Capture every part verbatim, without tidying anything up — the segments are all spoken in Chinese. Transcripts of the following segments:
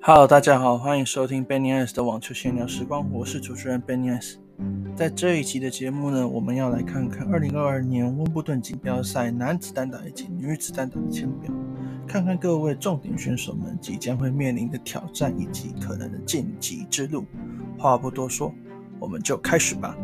Hello， 大家好，歡迎收聽 Benny S 的網球閒聊時光，我是主持人 Benny S。在這一集的節目呢，我們要來看看二零二二年溫布頓錦標賽男子單打以及女子單打的簽表，看看各位重點選手們即將會面臨的挑戰以及可能的晉級之路。話不多說，我們就開始吧。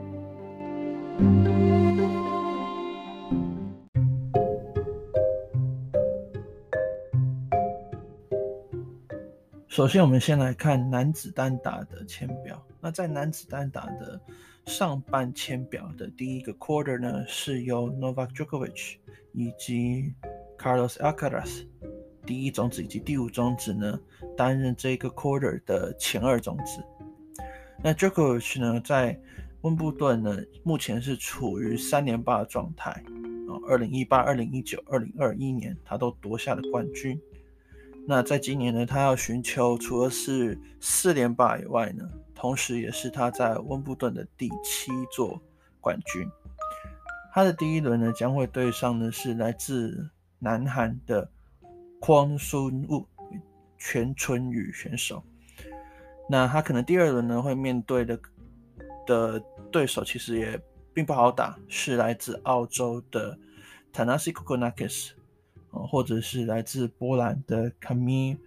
首先我們先來看男子單打的簽表。那在男子單打的上半簽表的第一個 quarter 呢，是由 Novak Djokovic 以及 Carlos Alcaraz 第一種子以及第五種子呢擔任這個 quarter 的前二種子。那 Djokovic 呢在溫布頓呢目前是處於三連霸的狀態，二零一八、二零一九、二零二一年他都奪下了冠軍。那在今年呢，他要尋求除了是四連霸以外呢，同時也是他在溫布頓的第七座冠軍。他的第一輪呢，將會對上的是來自南韓的kwon Soon-woo全春宇選手。那他可能第二輪呢會面對的的對手其實也並不好打，是來自澳洲的 Thanasi Kokkinakis。或者是來自波蘭的 Kamil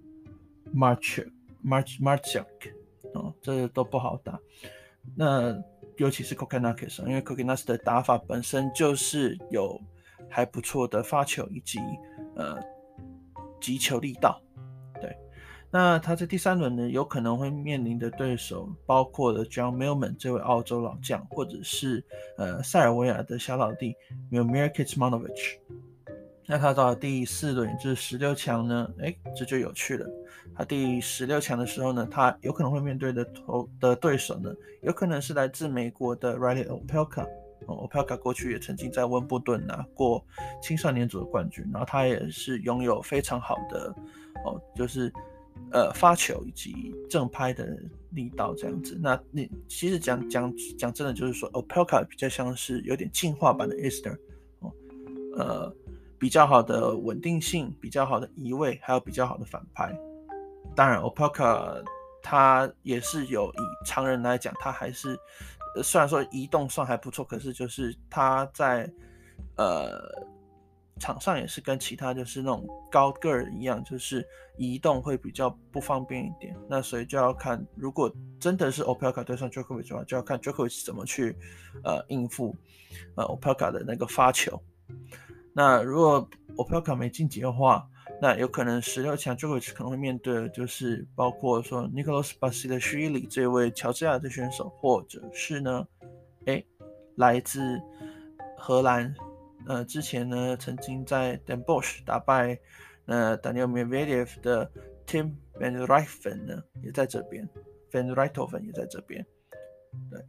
Marchuk Marchuk 哦，這都不好打。那尤其是 Kokkinakis， 因為 Kokkinakis 的打法本身就是有還不錯的發球以及呃擊球力道。對，那他在第三輪呢，有可能會面臨的對手包括了 John Millman 這位澳洲老將，或者是呃塞爾維亞的小老弟 Milomir Kecmanovic。那他到了第四輪，也就是十六強呢，誒，這就有趣了。他第十六強的時候呢，他有可能會面對的頭的對手呢，有可能是來自美國的 Reilly Opelka。Opelka 過去也曾經在溫布頓拿過青少年組的冠軍，然後他也是擁有非常好的哦，就是呃發球以及正拍的力道這樣子。那你其實講講講真的，就是說 Opelka 比較像是有點進化版的 Isner 哦，呃。比較好的穩定性，比較好的移位，還有比較好的反拍。當然 Opelka 他也是有，以常人來講，他還是雖然說移動算還不錯，可是就是他在呃場上也是跟其他就是那種高個兒一樣，就是移動會比較不方便一點。那所以就要看，如果真的是 Opelka 對上 Djokovic 的話，就要看 Djokovic 怎麼去呃應付呃 Opelka 的那個發球。那如果 Opelka 沒晉級的話，那有可能十六強 Djokovic 可能會面對的就是包括說 Nicolas Basilashvili 這位喬治亞的選手，或者是呢，誒，來自荷蘭，呃，之前呢曾經在 Den Bosch 打敗呃 Daniil Medvedev 的 Tim van Rijthoven 呢也在這邊 ，Van Rijthoven 也在這邊，對。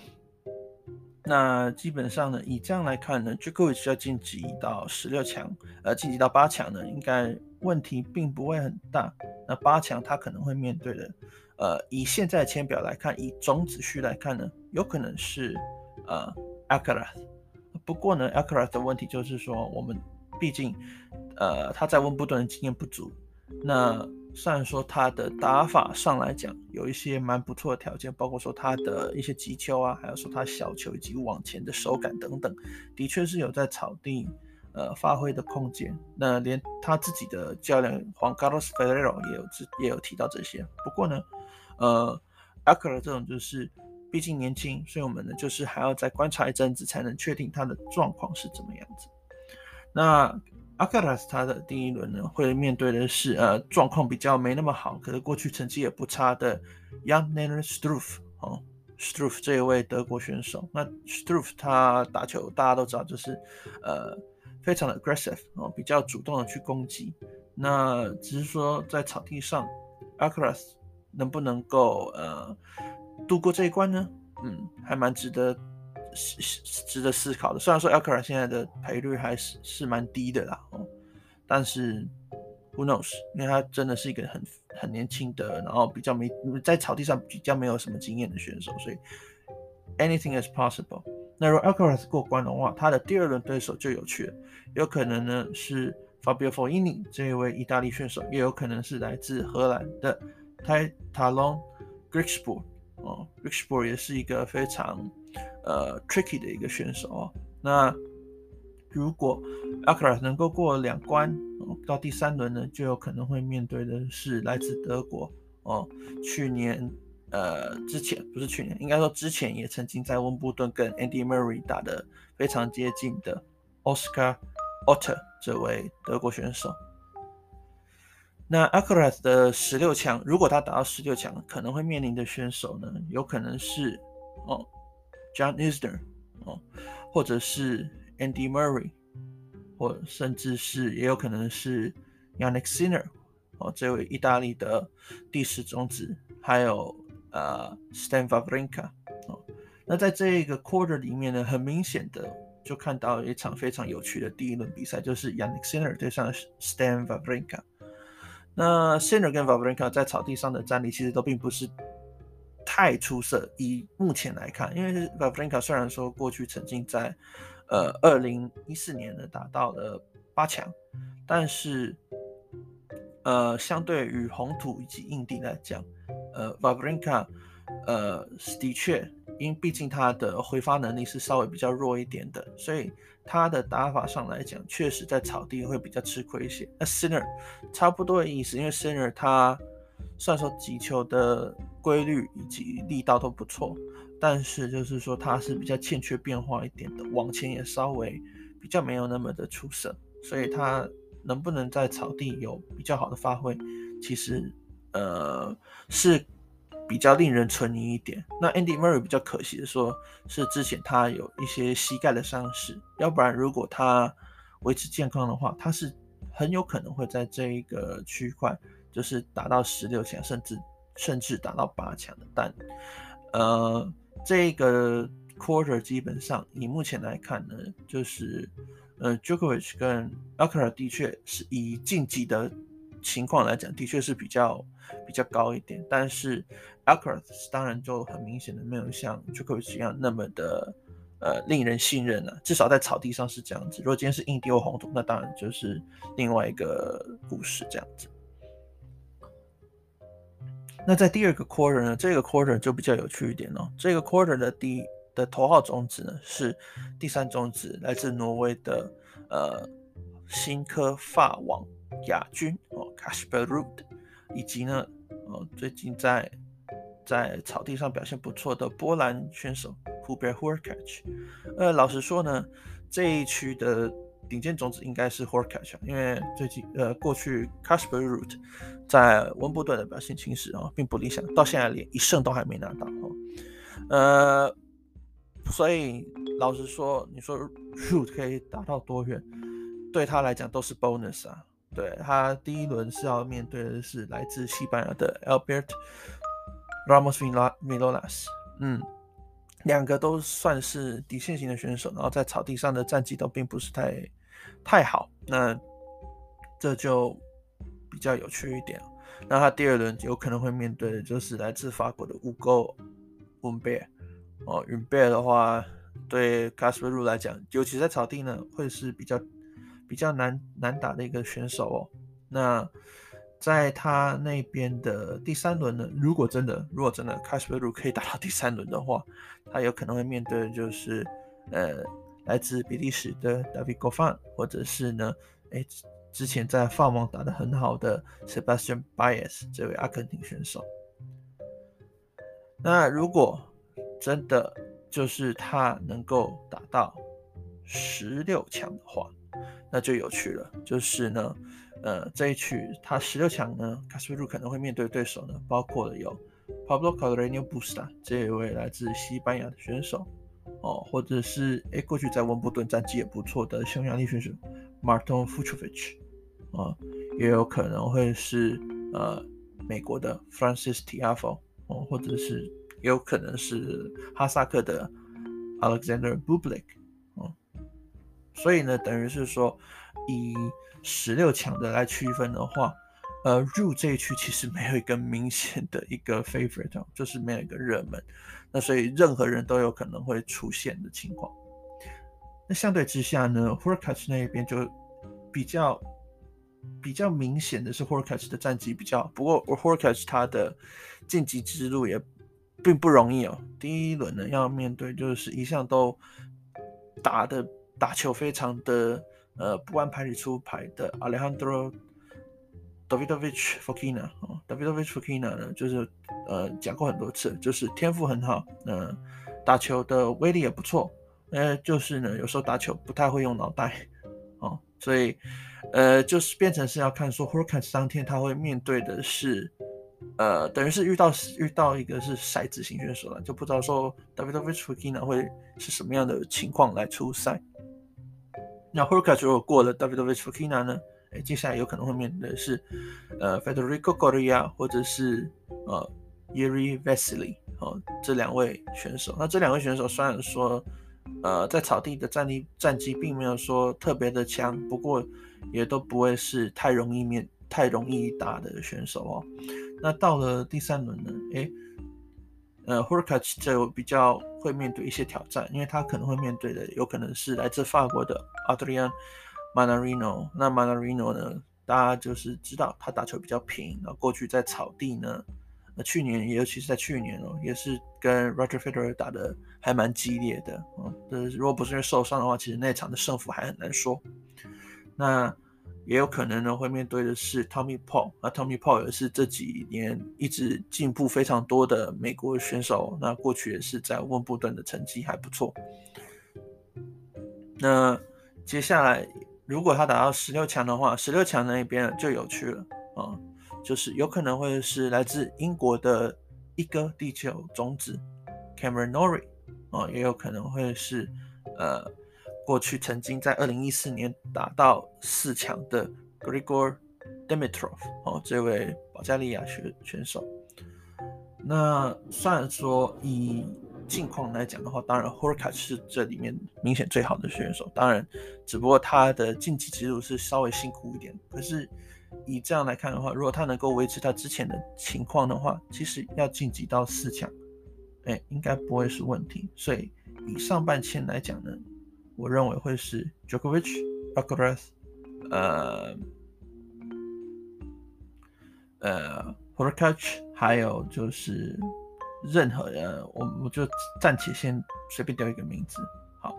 那基本上呢，以這樣來看呢 Djokovic 要晉級到十六強，呃，晉級到八強呢，應該問題並不會很大。那八強他可能會面對的，呃，以現在的簽表來看，以種子序來看呢，有可能是呃 Alcaraz。不過呢 ，Alcaraz 的問題就是說，我們畢竟呃他在溫布頓的經驗不足。那雖然說他的打法上來講有一些蠻不錯的條件，包括說他的一些擊球啊，還有說他小球以及往前的手感等等，的確是有在草地呃發揮的空間。那連他自己的教練 Juan Carlos Ferrero 也有也有提到這些。不過呢，呃 Alcaraz 這種就是畢竟年輕，所以我們呢就是還要再觀察一陣子才能確定他的狀況是怎麼樣子。那Alcaraz 他的第一輪呢，會面對的是呃狀況比較沒那麼好，可是過去成績也不差的 Jan-Lennard Struff 哦 Struff 這一位德國選手。那 Struff 他打球大家都知道，就是呃非常的 aggressive 哦，比較主動的去攻擊。那只是說在草地上 Alcaraz 能不能夠呃度過這一關呢？嗯，還蠻值得。值得思考的。雖然說 Alcaraz 現在的賠率還是是蠻低的啦，哦，但是 who knows， 因為他真的是一個很很年輕的，然後比較沒在草地上比較沒有什麼經驗的選手，所以 anything is possible。那如果 Alcaraz 過關的話，他的第二輪對手就有趣了，有可能呢是 Fabio Fognini 這一位意大利選手，也有可能是來自荷蘭的 Tyrone Griekspoor 哦 Griekspoor 也是一個非常呃 tricky 的一個選手哦。那如果 Alcaraz 能夠過兩關、哦、到第三輪呢，就有可能會面對的是來自德國哦，去年呃之前不是去年，應該說之前也曾經在溫布頓跟 Andy Murray 打得非常接近的 Oscar Otte 這位德國選手。那 Alcaraz 的十六強，如果他打到十六強，可能會面臨的選手呢，有可能是哦 John Isner 哦，或者是 Andy Murray， 或甚至是也有可能是 Jannik Sinner 哦，這位意大利的第十種子，還有呃 Stan Wawrinka 哦。那在這個 quarter 裡面呢，很明顯的就看到一場非常有趣的第一輪比賽，就是 Jannik Sinner 對上 Stan Wawrinka。那 Sinner 跟 Wawrinka 在草地上的戰力其實都並不是太出色，以目前來看，因為 Wawrinka 雖然說過去曾經在呃二零一四年呢打到了八強，但是呃相對於紅土以及硬地來講，呃 Wawrinka 呃的確，因為畢竟他的揮發能力是稍微比較弱一點的，所以他的打法上來講，確實在草地會比較吃虧一些。那 Sinner 差不多的意思，因為 Sinner 他雖然說擊球的規律以及力道都不錯，但是就是說他是比較欠缺變化一點的，往前也稍微比較沒有那麼的出色，所以他能不能在草地有比較好的發揮，其實呃是比較令人存疑一點。那 Andy Murray 比較可惜的說，是之前他有一些膝蓋的傷勢，要不然如果他維持健康的話，他是很有可能會在這一個區塊就是打到十六強，甚至甚至打到八強的。但呃，這個 quarter 基本上以目前來看呢，就是呃 Djokovic 跟 Alcaraz 的確是以競技的情況來講，的確是比較比較高一點，但是 Alcaraz 當然就很明顯的沒有像 Djokovic 一樣那麼的呃令人信任啊，至少在草地上是這樣子。如果今天是硬地或紅土，那當然就是另外一個故事這樣子。那在第二個 quarter 呢，這個 quarter 就比較有趣一點哦。這個 quarter 的第一的頭號種子呢是第三種子，來自挪威的呃新科法網亞軍哦 Casper Ruud， 以及呢哦最近在在草地上表現不錯的波蘭選手 Hubert Hurkacz。呃，老實說呢，這一區的頂尖種子應該是 Hurkacz， 因為最近呃過去 Casper Ruud 在溫布頓的表現其實啊並不理想，到現在連一勝都還沒拿到哦。呃，所以老實說，你說 Ruud 可以打到多遠，對他來講都是 bonus 啊。對，他第一輪是要面對的是來自西班牙的 Albert Ramos Vinolas， 嗯。兩個都算是底線型的選手，然後在草地上的戰績都並不是太太好，那這就比較有趣一點。那他第二輪有可能會面對的就是來自法國的 Hugo Humbert 哦 Humbert 的話，對 Casper Ruud 來講，尤其在草地呢，會是比較比較難難打的一個選手哦。那在他那邊的第三輪呢，如果真的如果真的 Casper Ruud 可以打到第三輪的話，他有可能會面對的就是呃來自比利時的 David Goffin， 或者是呢誒之前在法網打得很好的 Sebastian Baez 這位阿根廷選手。那如果真的就是他能夠打到十六強的話，那就有趣了，就是呢呃，這一區他十六強呢 Casper Ruud 可能會面對的對手呢，包括了有 Pablo Carreño Busta 這一位來自西班牙的選手哦，或者是誒過去在溫布頓戰績也不錯的匈牙利選手 Marton Fucsovics 哦，也有可能會是呃美國的 Frances Tiafoe 哦，或者是也有可能是哈薩克的 Alexander Bublik 哦，所以呢，等於是說以十六強的來區分的話，呃，入這一區其實沒有一個明顯的一個 favorite， 就是沒有一個熱門，那所以任何人都有可能會出現的情況。那相對之下呢 Hurkacz 那邊就比較比較明顯的是 Hurkacz 的戰績比較好，不過 Hurkacz 他的晉級之路也並不容易哦。第一輪呢要面對就是一向都打的打球非常的呃不按牌理出牌的 Alejandro Davidovich Fokina 哦 ，Davidovich Fokina 呢就是呃講過很多次，就是天賦很好，呃打球的威力也不錯，呃就是呢有時候打球不太會用腦袋哦，所以呃就是變成是要看說 Hurkacz 當天他會面對的是。呃，等於是遇到遇到一個是骰子型選手了，就不知道說 Davidovich Fokina 會是什麼樣的情況來出賽。那 Hurkacz 如果過了 Davidovich Fokina 呢，哎，接下來有可能會面對的是呃 Federico Coria 或者是呃 Jiří Veselý 哦這兩位選手。那這兩位選手雖然說呃在草地的戰力戰績並沒有說特別的強，不過也都不會是太容易面太容易打的選手哦。那到了第三輪呢，誒，呃 Hurkacz 就比較會面對一些挑戰，因為他可能會面對的有可能是來自法國的 Adrian Manarino。那 Manarino 呢，大家就是知道他打球比較平，然後過去在草地呢，呃、去年也尤其是在去年哦，也是跟 Roger Federer 打的還蠻激烈的哦。如果不是因為受傷的話，其實那場的勝負還很難說。那也有可能呢會面對的是 Tommy Paul， 那 Tommy Paul 也是這幾年一直進步非常多的美國選手，那過去也是在溫布頓的成績還不錯。那接下來如果他打到十六強的話，十六強那一邊就有趣了啊，就是有可能會是來自英國的一哥地球種子 Cameron Norrie 啊，也有可能會是呃。過去曾經在二零一四年打到四強的 Grigor Dimitrov 哦，這位保加利亞選選手。那雖然說以近況來講的話，當然 Hurkacz 是這裡面明顯最好的選手，當然只不過他的晉級之路是稍微辛苦一點。可是以這樣來看的話，如果他能夠維持他之前的情況的話，其實要晉級到四強，哎，應該不會是問題。所以以上半簽來講呢，我認為會是 Djokovic、Alcaraz、呃、呃 Hurkacz， 還有就是任何人，我我就暫且先隨便丟一個名字，好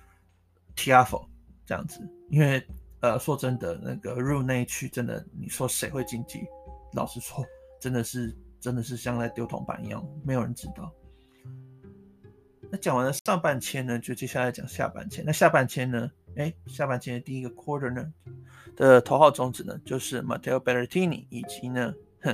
Tiafoe 這樣子，因為呃說真的，那個入內區真的，你說誰會晉級？老實說，真的是真的是像在丟銅板一樣，沒有人知道。那講完了上半簽呢，就接下來講下半簽。那下半簽呢，哎，下半簽的第一個 quarter 呢的頭號種子呢，就是 Matteo Berrettini 以及呢，哼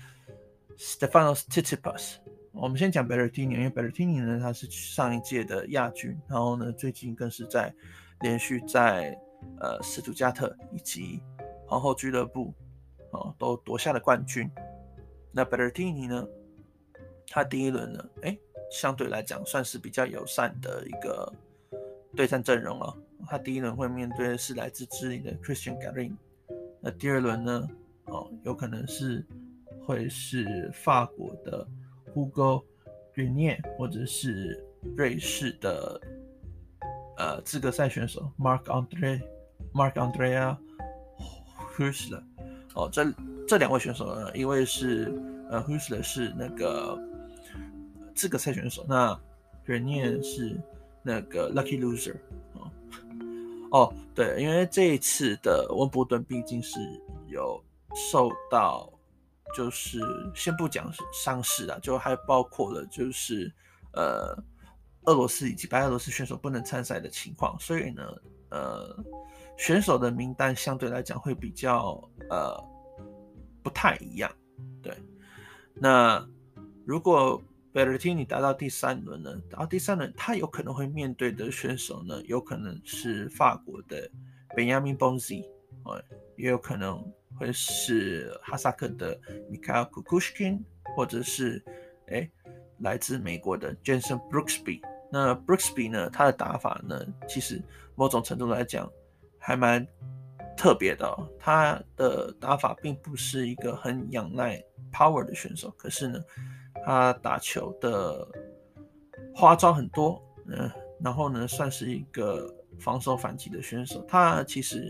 Stefanos Tsitsipas。我們先講 Berrettini， 因為 Berrettini 呢，他是上一屆的亞軍，然後呢，最近更是在連續在呃斯圖加特以及皇後俱樂部哦都奪下了冠軍。那 Berrettini 呢，他第一輪呢，哎。相對來講算是比較友善的一個對戰陣容了。他第一輪會面對的是來自智利的 Cristian Garin， 那第二輪呢，哦，有可能是會是法國的 Hugo Grenier， 或者是瑞士的呃資格賽選手 Marc André Marc Andrea Huesler。哦，這這兩位選手呢，一位是呃 Huesler 是那個資格賽選手，那 Grenier 是那個 Lucky Loser 哦。哦，對，因為這一次的溫布頓畢竟是有受到，就是先不講傷勢啦，就還包括了就是呃俄羅斯以及白俄羅斯選手不能參賽的情況，所以呢，呃選手的名單相對來講會比較呃不太一樣。對，那如果Berrettini 達到第三輪呢，達到第三輪，他有可能會面對的選手呢，有可能是法國的 Benjamin Bonzi， 也有可能會是哈薩克的 Mikhail Kukushkin， 或者是誒來自美國的 Jenson Brooksby。那 Brooksby 呢，他的打法呢，其實某種程度來講還蠻特別的哦。他的打法並不是一個很仰賴 power 的選手，可是呢，他打球的花招很多，嗯，然後呢，算是一個防守反擊的選手。他其實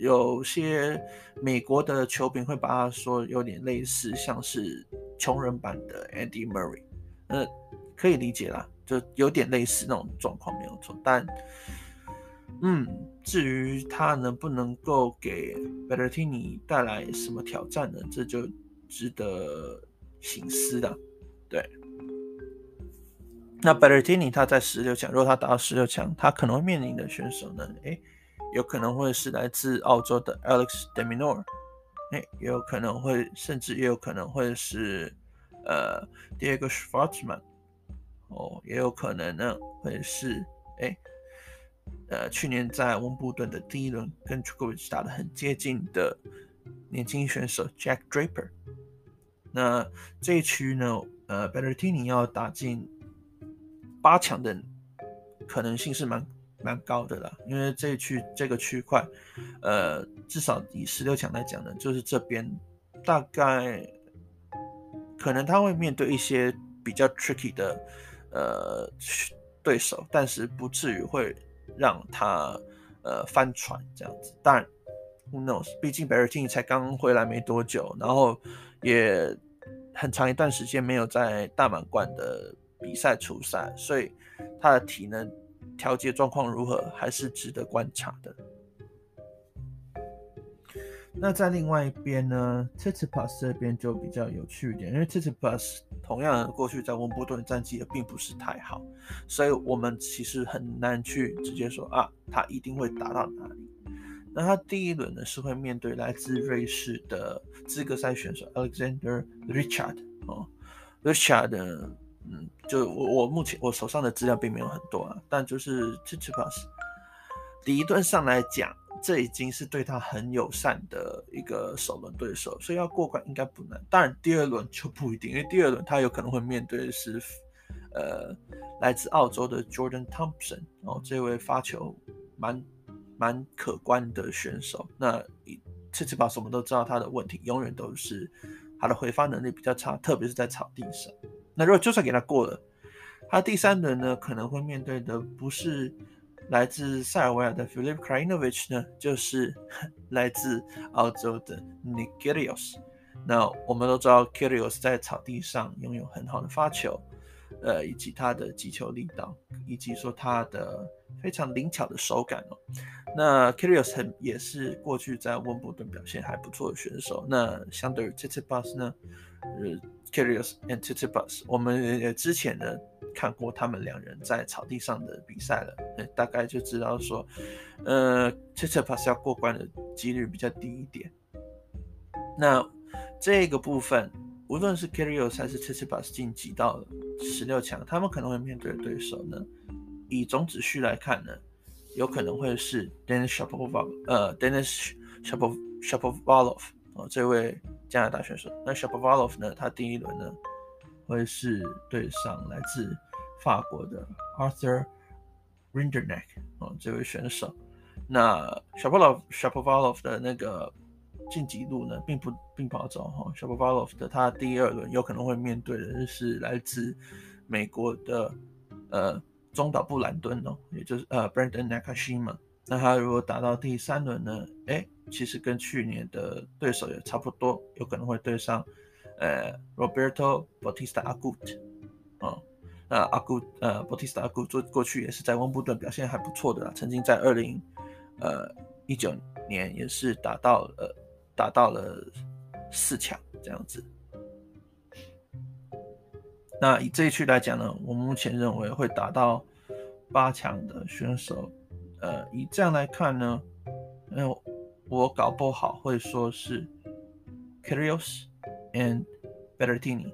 有些美國的球評會把他說有點類似，像是窮人版的 Andy Murray，呃，可以理解啦，就有點類似那種狀況沒有錯。但，嗯，至於他能不能夠給 Berrettini 帶來什麼挑戰呢？這就值得省思了。對，那 Berrettini 他在十六強，如果他打到十六強，他可能會面臨的選手呢？誒有可能會是來自澳洲的 Alex de Minaur， 也有可能會，甚至也有可能會是呃 Diego Schwartzman， 哦，也有可能呢會是哎呃去年在溫布頓的第一輪跟 Djokovic 打得很接近的年輕選手 Jack Draper。那這一區呢，呃 Berrettini 要打進八強的可能性是蠻。蠻高的啦，因為這一區這個區塊，呃，至少以十六強來講呢，就是這邊大概可能他會面對一些比較 tricky 的呃對手，但是不至於會讓他呃翻船這樣子。當然 ，who knows？ 畢竟 Berrettini 才剛回來沒多久，然後也很長一段時間沒有在大滿貫的比賽出賽，所以他的體能調節狀況如何，還是值得觀察的。那在另外一邊呢 ，Tsitsipas 這邊就比較有趣一點，因為 Tsitsipas 同樣過去在溫布頓戰績也並不是太好，所以我們其實很難去直接說啊，他一定會打到哪裡。那他第一輪呢是會面對來自瑞士的資格賽選手 Alexander Richard 哦 ，Richard 呢。嗯，就我我目前我手上的資料並沒有很多啊，但就是 Tsitsipas 理論上來講，這已經是對他很友善的一個首輪對手，所以要過關應該不難。當然第二輪就不一定，因為第二輪他有可能會面對的是呃來自澳洲的 Jordan Thompson， 哦，這位發球蠻蠻可觀的選手。那 Tsitsipas 我們都知道他的問題永遠都是他的回發能力比較差，特別是在草地上。那如果就算給他過了，他第三輪呢可能會面對的不是來自塞爾維亞的 Filip Krajinovic 呢，就是來自澳洲的 Nick Kyrgios。那我們都知道 Kyrgios 在草地上擁有很好的發球，呃，以及他的擊球力道，以及說他的非常靈巧的手感哦。那 Kyrgios 也是過去在溫布頓表現還不錯的選手。那相對於 Tsitsipas 呢，呃 Kyrgios and Tsitsipas， 我們也之前呢看過他們兩人在草地上的比賽了，大概就知道說，呃 Tsitsipas 要過關的幾率比較低一點。那這個部分，無論是 Kyrgios 還是 Tsitsipas 晉級到了十六強，他們可能會面對的對手呢，以總指序來看呢，有可能會是 Denis Shapovalov， 呃 Denis Shapovalov 哦，這位加拿大選手。那 Shapovalov 呢，他第一輪呢會是對上來自法國的 Arthur Rinderknech 哦，這位選手。那 Shapovalov Shapovalov 的那個晉級路呢，並不並不好走哈。Shapovalov 的他第二輪有可能會面對的是來自美國的呃中島布蘭敦哦，也就是呃 Brandon Nakashima。那他如果打到第三輪呢，哎，其實跟去年的對手也差不多，有可能會對上呃 Roberto Bautista Agut 哦。那 Agut 呃 Bautista Agut 做過去也是在溫布頓表現還不錯的啦，曾經在二零呃一九年也是打到呃。打到了四強這樣子。那以這一區來講呢，我目前認為會打到八強的選手，呃，以這樣來看呢，呃，我搞不好會說是 Kyrgios and Berrettini。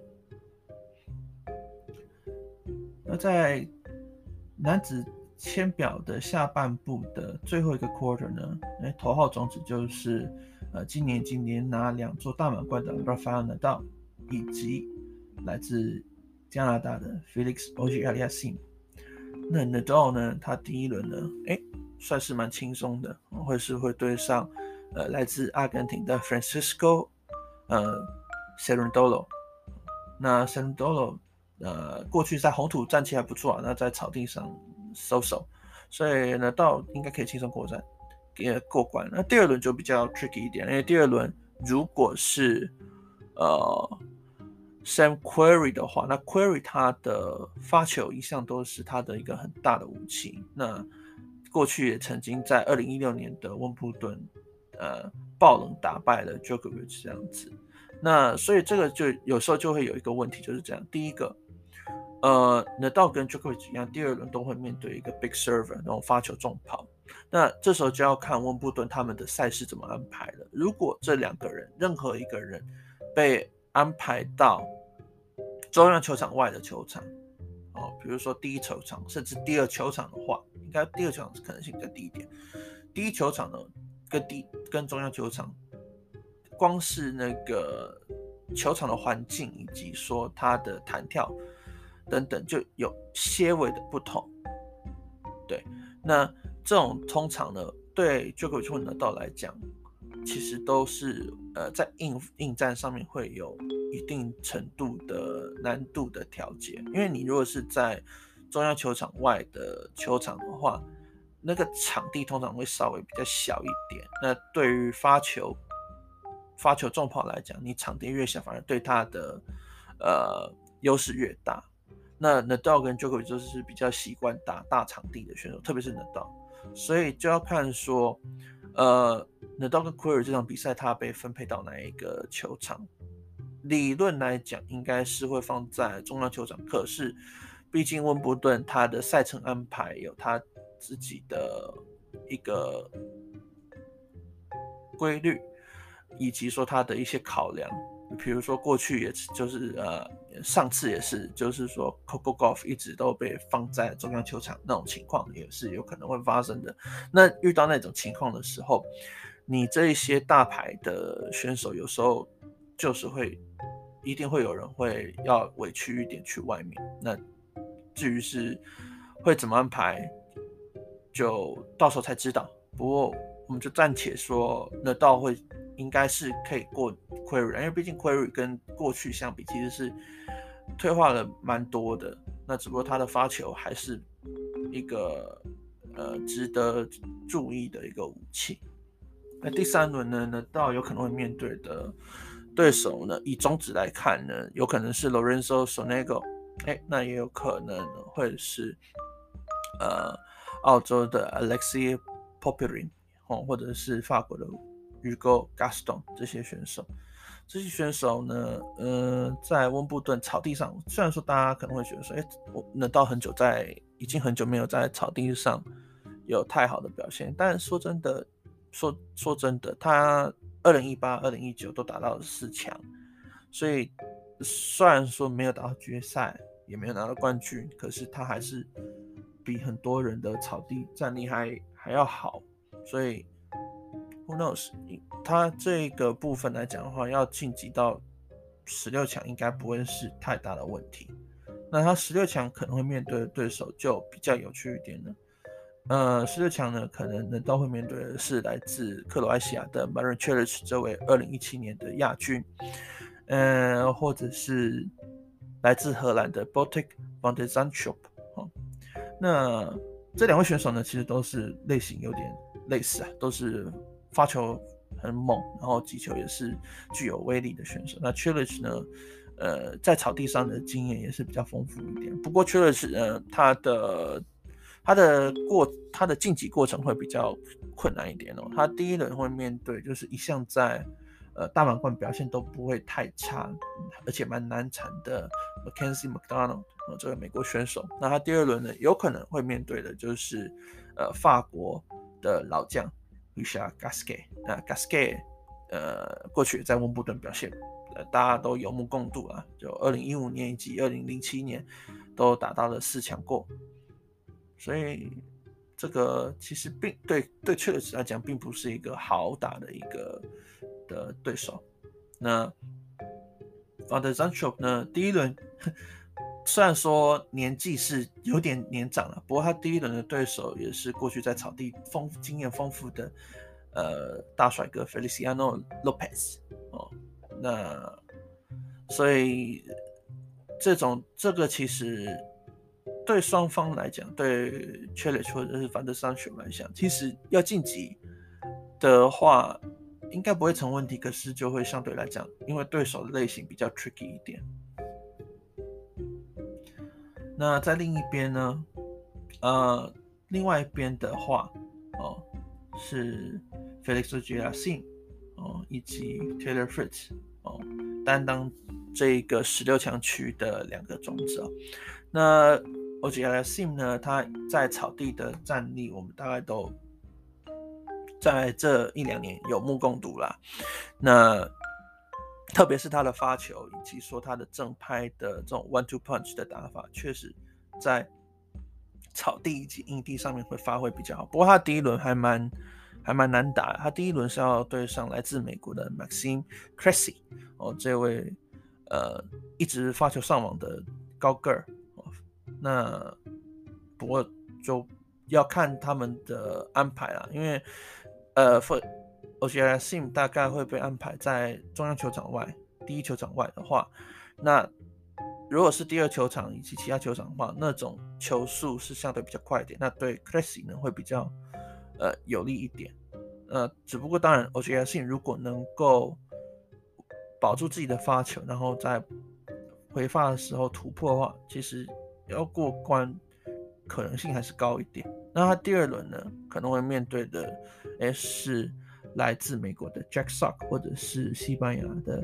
那在男子簽表的下半部的最後一個 quarter 呢，欸、頭號種子就是呃今年今年拿兩座大滿貫的 Rafael Nadal， 以及來自加拿大的 Felix Auger-Aliassime。那 Nadal 呢，他第一輪呢，哎，算是蠻輕鬆的，會是會對上呃來自阿根廷的 Francisco 呃 Cerundolo。那 Cerundolo 呃過去在紅土戰績還不錯啊，那在草地上收手，所以呢，Nadal應該可以輕鬆過關。 也過關。那第二輪就比較 tricky 一點，因為第二輪如果是呃 Sam Querrey 的話，那 Querrey 他的發球一向都是他的一個很大的武器。那過去也曾經在二零一六年的溫布頓呃爆冷打敗了 Djokovic 這樣子。那所以這個就有時候就會有一個問題，就是這樣。第一個，呃，Nadal 跟 Djokovic 一樣，第二輪都會面對一個 big server 那種發球重炮。那這時候就要看溫布頓他們的賽事怎麼安排了。如果這兩個人任何一個人被安排到中央球場外的球場，哦，比如說第一球場甚至第二球場的話，應該第二球场可能性更低一點。第一球場呢，跟第跟中央球場。光是那個球場的環境以及說它的彈跳等等，就有些微的不同。對，那這種通常呢，對 Djokovic 或Nadal來講，其實都是呃在應應戰上面會有一定程度的難度的調節。因為你如果是在中央球場外的球場的話，那個場地通常會稍微比較小一點。那對於發球發球重炮來講，你場地越小，反而對他的呃優勢越大。那 Nadal 跟 Djokovic 就是比較習慣打大場地的選手，特別是 Nadal， 所以就要看說，呃 Nadal 跟 Querrey 這場比賽他被分配到哪一個球場。理論來講，應該是會放在中央球場，可是畢竟溫布頓他的賽程安排有他自己的一個規律。以及說他的一些考量，比如說過去也就是呃上次也是，就是說 Coco Gauff 一直都被放在中央球場，那種情況也是有可能會發生的。那遇到那種情況的時候，你這一些大牌的選手有時候就是會一定會有人會要委屈一點去外面。那至於是會怎麼安排，就到時候才知道。不過我們就暫且說Nadal會。應該是可以過 Querrey， 因為畢竟 Querrey 跟過去相比，其實是退化了蠻多的。那只不過他的發球還是一個呃值得注意的一個武器。那第三輪呢，Nadal有可能會面對的對手呢，以中指來看呢，有可能是 Lorenzo Sonego， 哎，那也有可能會是呃澳洲的 Alexei Popyrin，哦，或者是法國的。Hugo Gaston 這些選手，這些選手呢，呃，在溫布頓草地上，雖然說大家可能會覺得說，哎，我Nadal很久在，已經很久沒有在草地上有太好的表現，但說真的，說說真的，他二零一八、二零一九都打到了四強，所以雖然說沒有打到決賽，也沒有拿到冠軍，可是他還是比很多人的草地戰力還還要好，所以。Who knows？ 他這個部分來講的話，要晉級到十六強應該不會是太大的問題。那他十六強可能會面對的對手就比較有趣一點了。呃，十六強呢，可能Nadal會面對的是來自克羅埃西亞的 Marin Cilic 這位二零一七年的亞軍，呃，或者是來自荷蘭的 Botic van de Zandschulp。哦，那這兩位選手呢，其實都是類型有點類似啊，都是。發球很猛，然後擊球也是具有威力的選手。那 Cilic 呢，呃，在草地上的經驗也是比較豐富一點。不過 Cilic 呃，他的他的過他的晉級過程會比較困難一點哦。他第一輪會面對就是一向在呃大滿貫表現都不會太差，而且蠻難纏的 Mackenzie McDonald，呃，這個美國選手。那他第二輪呢，有可能會面對的就是呃法國的老將。Richard Gasquet， 那 Gasquet， 呃，過去在溫布頓表現，呃，大家都有目共睹啊。就二零一五年以及二零零七年都打到了四強過，所以這個其實並對對 Cilic 來講，並不是一個好打的一個的對手。那 van de Zandschulp 呢，第一輪雖然說年紀是有點年長了，不過他第一輪的對手也是過去在草地豐經驗豐富的呃大帥哥 Feliciano Lopez 哦，那所以這種這個其實對雙方來講，對 Cilic 或者是 van de Zandschulp 來講，其實要晉級的話，應該不會成問題，可是就會相對來講，因為對手的類型比較 tricky 一點。那在另一邊呢，呃，另外一邊的話，哦，是 Felix Auger-Aliassime 哦，以及 Taylor Fritz 哦，擔當這個十六強區的兩個種子哦。那 Auger-Aliassime 呢，他在草地的戰力，我們大概都在這一兩年有目共睹啦。那特別是他的發球，以及說他的正拍的這種 one two punch 的打法，確實在草地以及硬地上面會發揮比較好。不過他第一輪還蠻還蠻難打的，他第一輪是要對上來自美國的 Maxime Cressy 哦，這位呃一直發球上網的高個兒。哦，那不過就要看他們的安排啦，因為呃 Auger-Aliassime 大概會被安排在中央球場外，第一球場外的話，那如果是第二球場以及其他球場的話，那種球速是相對比較快一點，那對 Cressy 呢會比較呃有利一點。呃，只不過當然 Auger-Aliassime 如果能夠保住自己的發球，然後在回發的時候突破的話，其實要過關可能性還是高一點。那他第二輪呢，可能會面對的誒是來自美國的 Jack Sock 或者是西班牙的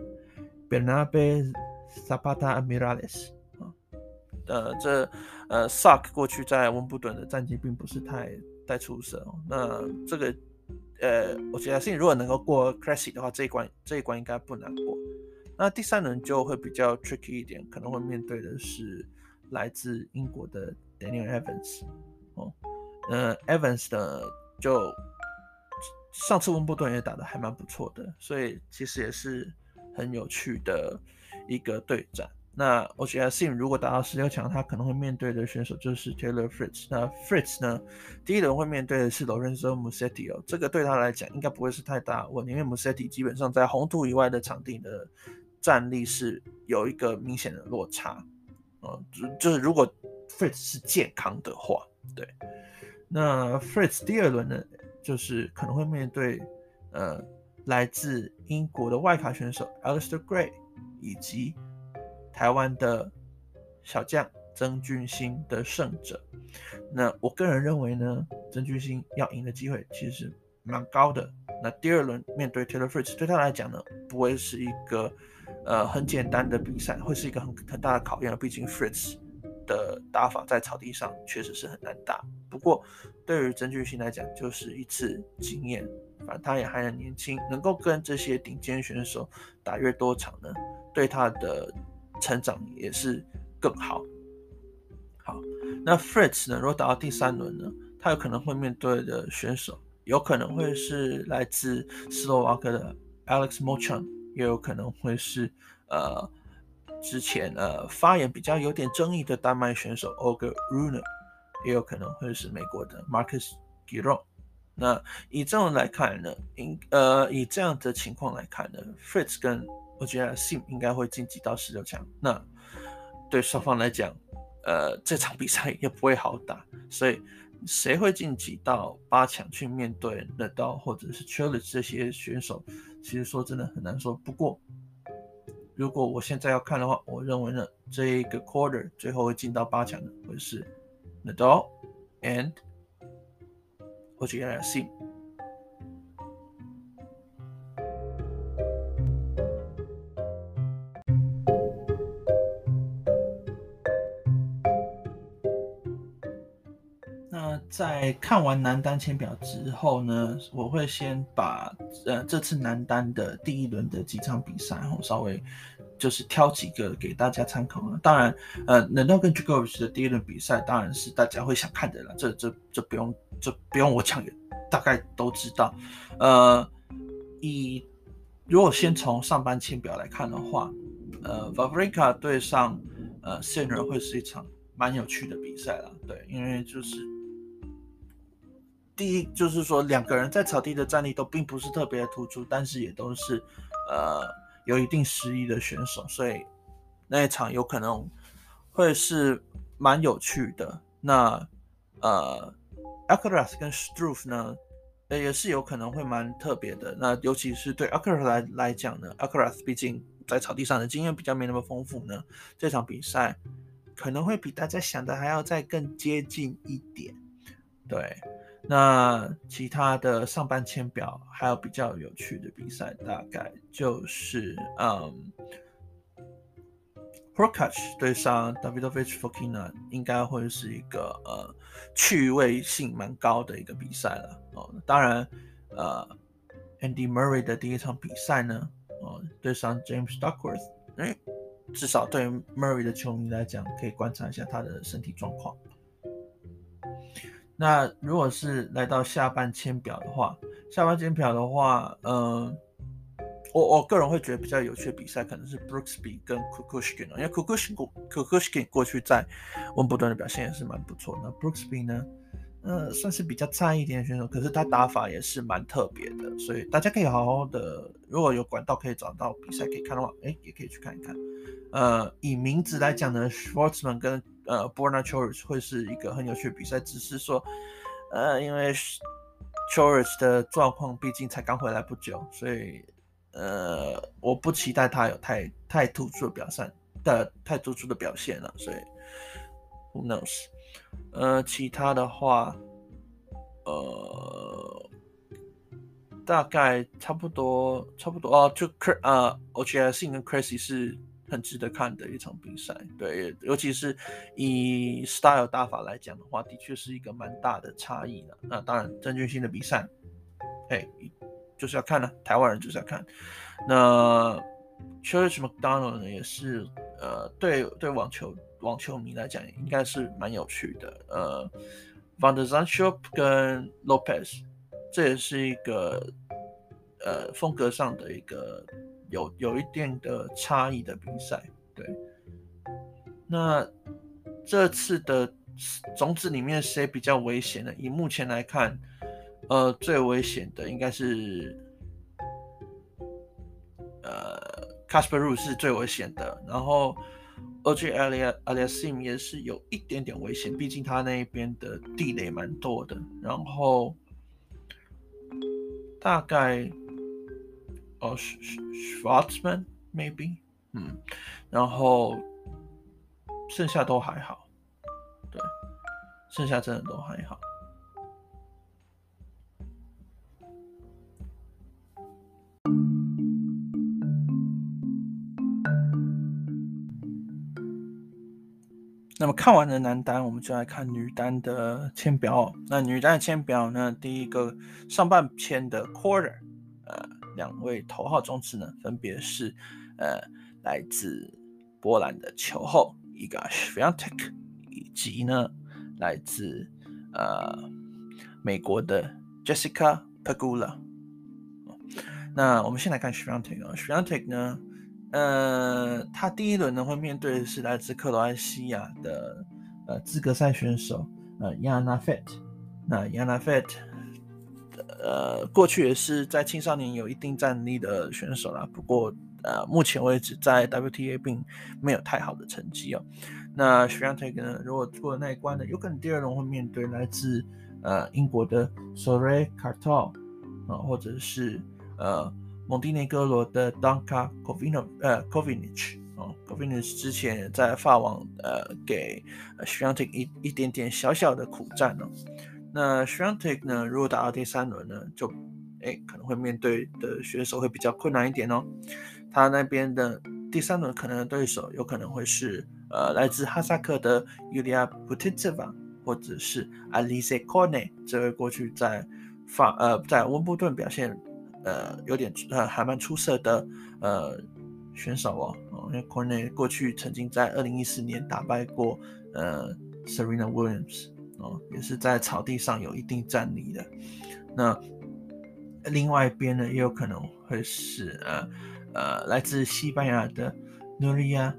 Bernabe Zapata Miralles 啊。呃，這呃 Sock 過去在溫布頓的戰績並不是太太出色哦。那這個呃，我覺得如果能夠過 Cressy 的話，這一關這一關應該不難過。那第三輪就會比較 tricky 一點，可能會面對的是來自英國的 Daniel Evans 哦。呃 Evans 呢，就上次溫布頓也打得還蠻不錯的，所以其實也是很有趣的一個對戰。那 Auger-Aliassime 如果打到十六強，他可能會面對的選手就是 Taylor Fritz。那 Fritz 呢，第一輪會面對的是 Lorenzo Musetti 哦，這個對他來講應該不會是太大的問題，因為 Musetti 基本上在紅土以外的場地的戰力是有一個明顯的落差。哦，就是如果 Fritz 是健康的話，對。那 Fritz 第二輪呢，就是可能會面對呃來自英國的外卡選手 Alistair Gray 以及台灣的小將曾峻欣的勝者。那我個人認為呢，曾峻欣要贏的機會其實蠻高的。那第二輪面對 Taylor Fritz 對他來講呢，不會是一個呃很簡單的比賽，會是一個很很大的考驗。畢竟 Fritz 的打法在草地上確實是很難打。不過對於曾峻欣來講，就是一次經驗。反正他也還很年輕，能夠跟這些頂尖選手打越多場呢，對他的成長也是更好。好，那 Fritz 呢，如果打到第三輪呢，他有可能會面對的選手，有可能會是來自斯洛伐克的 Alex Mocan， 也有可能會是呃之前呃發言比較有點爭議的丹麥選手 Holger Rune， 也有可能會是美國的 Marcus Giron。那以這種來看呢，呃，以這樣的情況來看呢 ，Fritz 跟 Auger-Aliassime 應該會晉級到十六強。那對雙方來講，呃，這場比賽也不會好打，所以誰會晉級到八強去面對 Nadal 或者是 Cilic 這些選手，其實說真的很難說。不過，如果我現在要看的話，我認為呢，這一個 quarter 最後會進到八強的會是 Nadal and Auger-Aliassime。那在看完男單簽表之後呢，我會先把呃這次男單的第一輪的幾場比賽，然後稍微就是挑幾個給大家參考啊。當然，呃，Nadal跟 Djokovic 的第一輪比賽當然是大家會想看的啦，這這這不用這不用我講，也大概都知道。呃，以如果先從上半簽表來看的話，呃 Wawrinka 對上呃 Sinner 會是一場蠻有趣的比賽啦，對，因為就是第一就是說兩個人在草地的戰力都並不是特別的突出，但是也都是呃有一定實力的選手，所以那一場有可能會是蠻有趣的。那呃 Alcaraz 跟 Struff 呢， 呃也是有可能會蠻特別的。那尤其是對 Alcaraz 來來講呢 ，Alcaraz 畢竟在草地上的經驗比較沒那麼豐富呢，這場比賽可能會比大家想的還要再更接近一點。對，那其他的上半簽表還有比較有趣的比賽，大概就是嗯。Hurkacz 對上 Davidovich Fokina 應該會是一個呃趣味性蠻高的一個比賽了哦。當然，呃，Andy Murray 的第一場比賽呢，哦，對上 James Duckworth，哎，至少對 Murray 的球迷來講，可以觀察一下他的身體狀況。那如果是來到下半簽表的話，下半簽表的話，嗯、呃。我我個人會覺得比較有趣的比賽可能是 Brooksby 跟 Kukushkin， 因為 Kukushkin Kukushkin 過去在溫布頓的表現也是蠻不錯的。那 Brooksby 呢，呃，算是比較菜一點的選手，可是他打法也是蠻特別的，所以大家可以好好的，如果有管道可以找到比賽可以看的話，哎，也可以去看一看。呃，以名字來講呢 ，Schwartzman 跟呃 Borna Coric 會是一個很有趣的比賽，只是說，呃，因為 Coric 的狀況畢竟才剛回來不久，所以。呃，我不期待他有太太突出的表現的太突出的表現了，所以 who knows？ 呃，其他的話，呃，大概差不多差不多哦，就呃 Auger-Aliassime 跟 Cressy 是很值得看的一場比賽，對，尤其是以 style 打法來講的話，的確是一個蠻大的差異的。那當然，鄭鈞興的比賽，嘿。就是要看了、啊，台灣人就是要看。那 Church McDonald 呢，也是呃，對對網球網球迷來講，應該是蠻有趣的。呃 Van de Zandschulp 跟 Lopez， 這也是一個呃風格上的一個有有一定的差異的比賽。對，那這次的種子裡面誰比較危險呢？以目前來看。呃，最危險的應該是，呃 Casper Ruud 是最危險的，然後 Auger-Aliassime 也是有一點點危險，畢竟他那邊的地雷蠻多的。然後大概哦 Schwartzman maybe， 嗯，然後剩下都還好，對，剩下真的都還好。那麼看完了男單，我們就來看女單的簽表。那女單的簽表呢，第一個上半簽的 Quarter， 呃，兩位頭號種子呢，分別是呃來自波蘭的球後 Iga Świątek， 以及呢來自呃美國的 Jessica Pegula。那我們先來看 Świątek 啊 ，Świątek 呢。呃，他第一輪呢會面對的是來自克羅埃西亞的呃資格賽選手呃 Jana Fett。那 Jana Fett， 呃，過去也是在青少年有一定戰力的選手啦，不過呃目前為止在 W T A 並沒有太好的成績哦。那 Świątek 呢，如果過了那一關呢，有可能第二輪會面對來自呃英國的 Soraya Kartal 啊，或者是呃。蒙地內哥羅的 Danka Kovinic， 呃 Kovinic 哦 Kovinic 之前也在法網呃給 Świątek 一一點點小小的苦戰哦。那 Świątek 呢，如果打到第三輪呢，就哎可能會面對的選手會比較困難一點哦。他那邊的第三輪可能的對手有可能會是呃來自哈薩克的 Yulia Putintseva， 或者是 Alizé Cornet， 這位過去在法呃在溫布頓表現。呃，有點呃還蠻出色的呃選手哦，哦因為 Cornet 過去曾經在二零一四年打敗過呃 Serena Williams 哦，也是在草地上有一定戰力的。那另外一邊呢，也有可能會是呃呃來自西班牙的 Nuria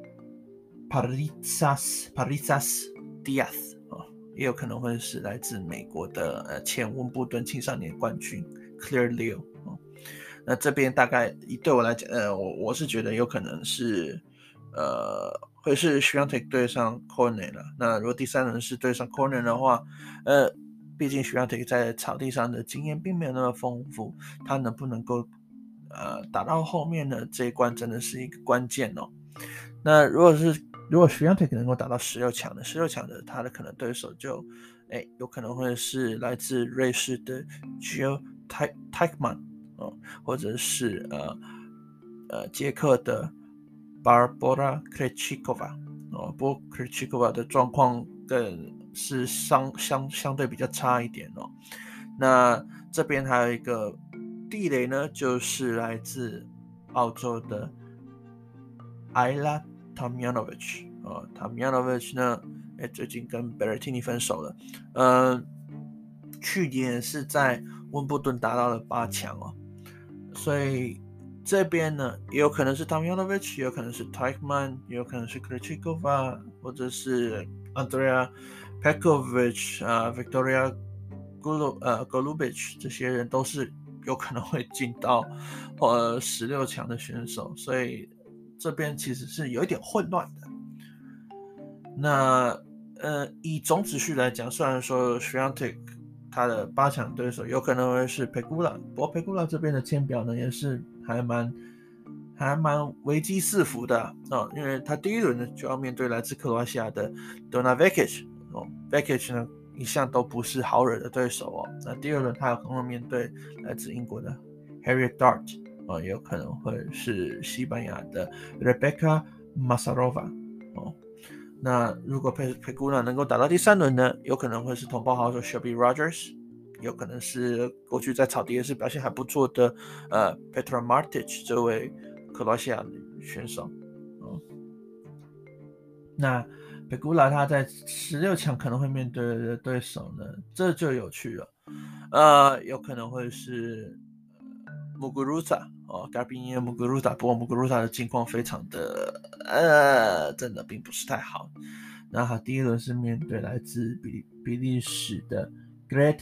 Parrizas Parrizas Diaz 哦，也有可能會是來自美國的呃前溫布頓青少年冠軍 Claire Liu。那這邊大概對我來講，呃，我我是覺得有可能是，呃，會是 Świątek 對上 Cornet 了。那如果第三輪是對上 Cornet 的話，呃， 畢竟 Swiatek 在草地上的經驗並沒有那麼豐富，他能不能夠呃打到後面呢？這一關真的是一個關鍵哦。那如果是如果 Swiatek 能夠打到十六強的，十六強的他的可能對手就哎有可能會是來自瑞士的 Gio Teichmann 哦，或者是呃呃捷克的 Barbora Krejcikova 哦，不過 Krejcikova 的狀況更是相相相對比較差一點哦。那這邊還有一個地雷呢，就是來自澳洲的 Ajla Tomljanovic 哦 Tomljanovic 呢，哎，最近跟 Berrettini 分手了，呃，去年是在溫布頓達到了八強哦，所以這邊呢也有可能是 Tomljanovic， 也有可能是 Teichmann， 也有可能是 Krejcikova， 或者是 Andrea Petkovic 啊、呃、，Victoria Golu 呃 Golubic 這些人都是有可能會進到呃十六強的選手，所以這邊其實是有一點混亂的。那呃以總子序來講，雖然說 Swiatek 他的八強對手有可能會是 Pegula， 不過 Pegula 這邊的簽表呢也是還蠻還蠻危機四伏的啊、哦，因為他第一輪呢就要面對來自克羅埃西亞的 Dona Vekic， 哦 Vekic 呢一向都不是好惹的對手哦。那第二輪他有可能會面對來自英國的 Harriet Dart， 哦，也有可能會是西班牙的 Rebecca Masarova， 哦。那如果 Pegula 能夠打到第三輪呢，有可能會是同胞好手 Shelby Rogers， 有可能是過去在草地也是表現還不錯的呃 Petra Martic 這位克羅西亞選手。哦，那 Pegula 他在十六強可能會面對的對手呢，這就有趣了，呃，有可能會是 Muguruza 哦 Garbiñe Muguruza， 不過 Muguruza 的境況非常的呃，真的並不是太好。那他第一輪是面對來自比比利時的 Grete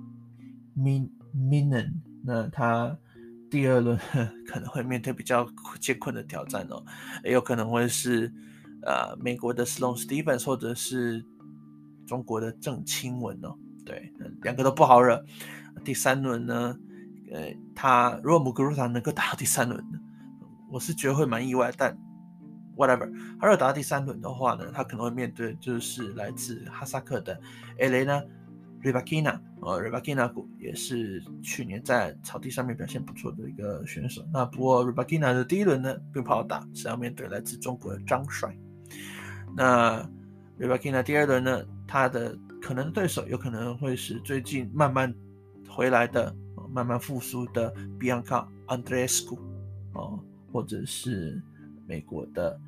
Minen， 那他第二輪可能會面對比較艱困的挑戰哦，也有可能會是呃美國的 Sloane Stephens 或者是中國的鄭欽文哦，對，兩個都不好惹。第三輪呢，呃，他如果 Muguruza 能夠打到第三輪，我是覺得會蠻意外，但 whatever， 他如果打到第三輪的話呢，他可能會面對就是來自哈薩克的 Elena Rybakina， 呃 Rybakina 也是去年在草地上面表現不錯的一個選手。那不過 Rybakina 的第一輪呢並不好打，是要面對來自中國的張帥。那 Rybakina 第二輪呢，他的可能對手有可能會是最近慢慢回來的、慢慢復甦的 Bianca Andreescu， 哦，或者是美國的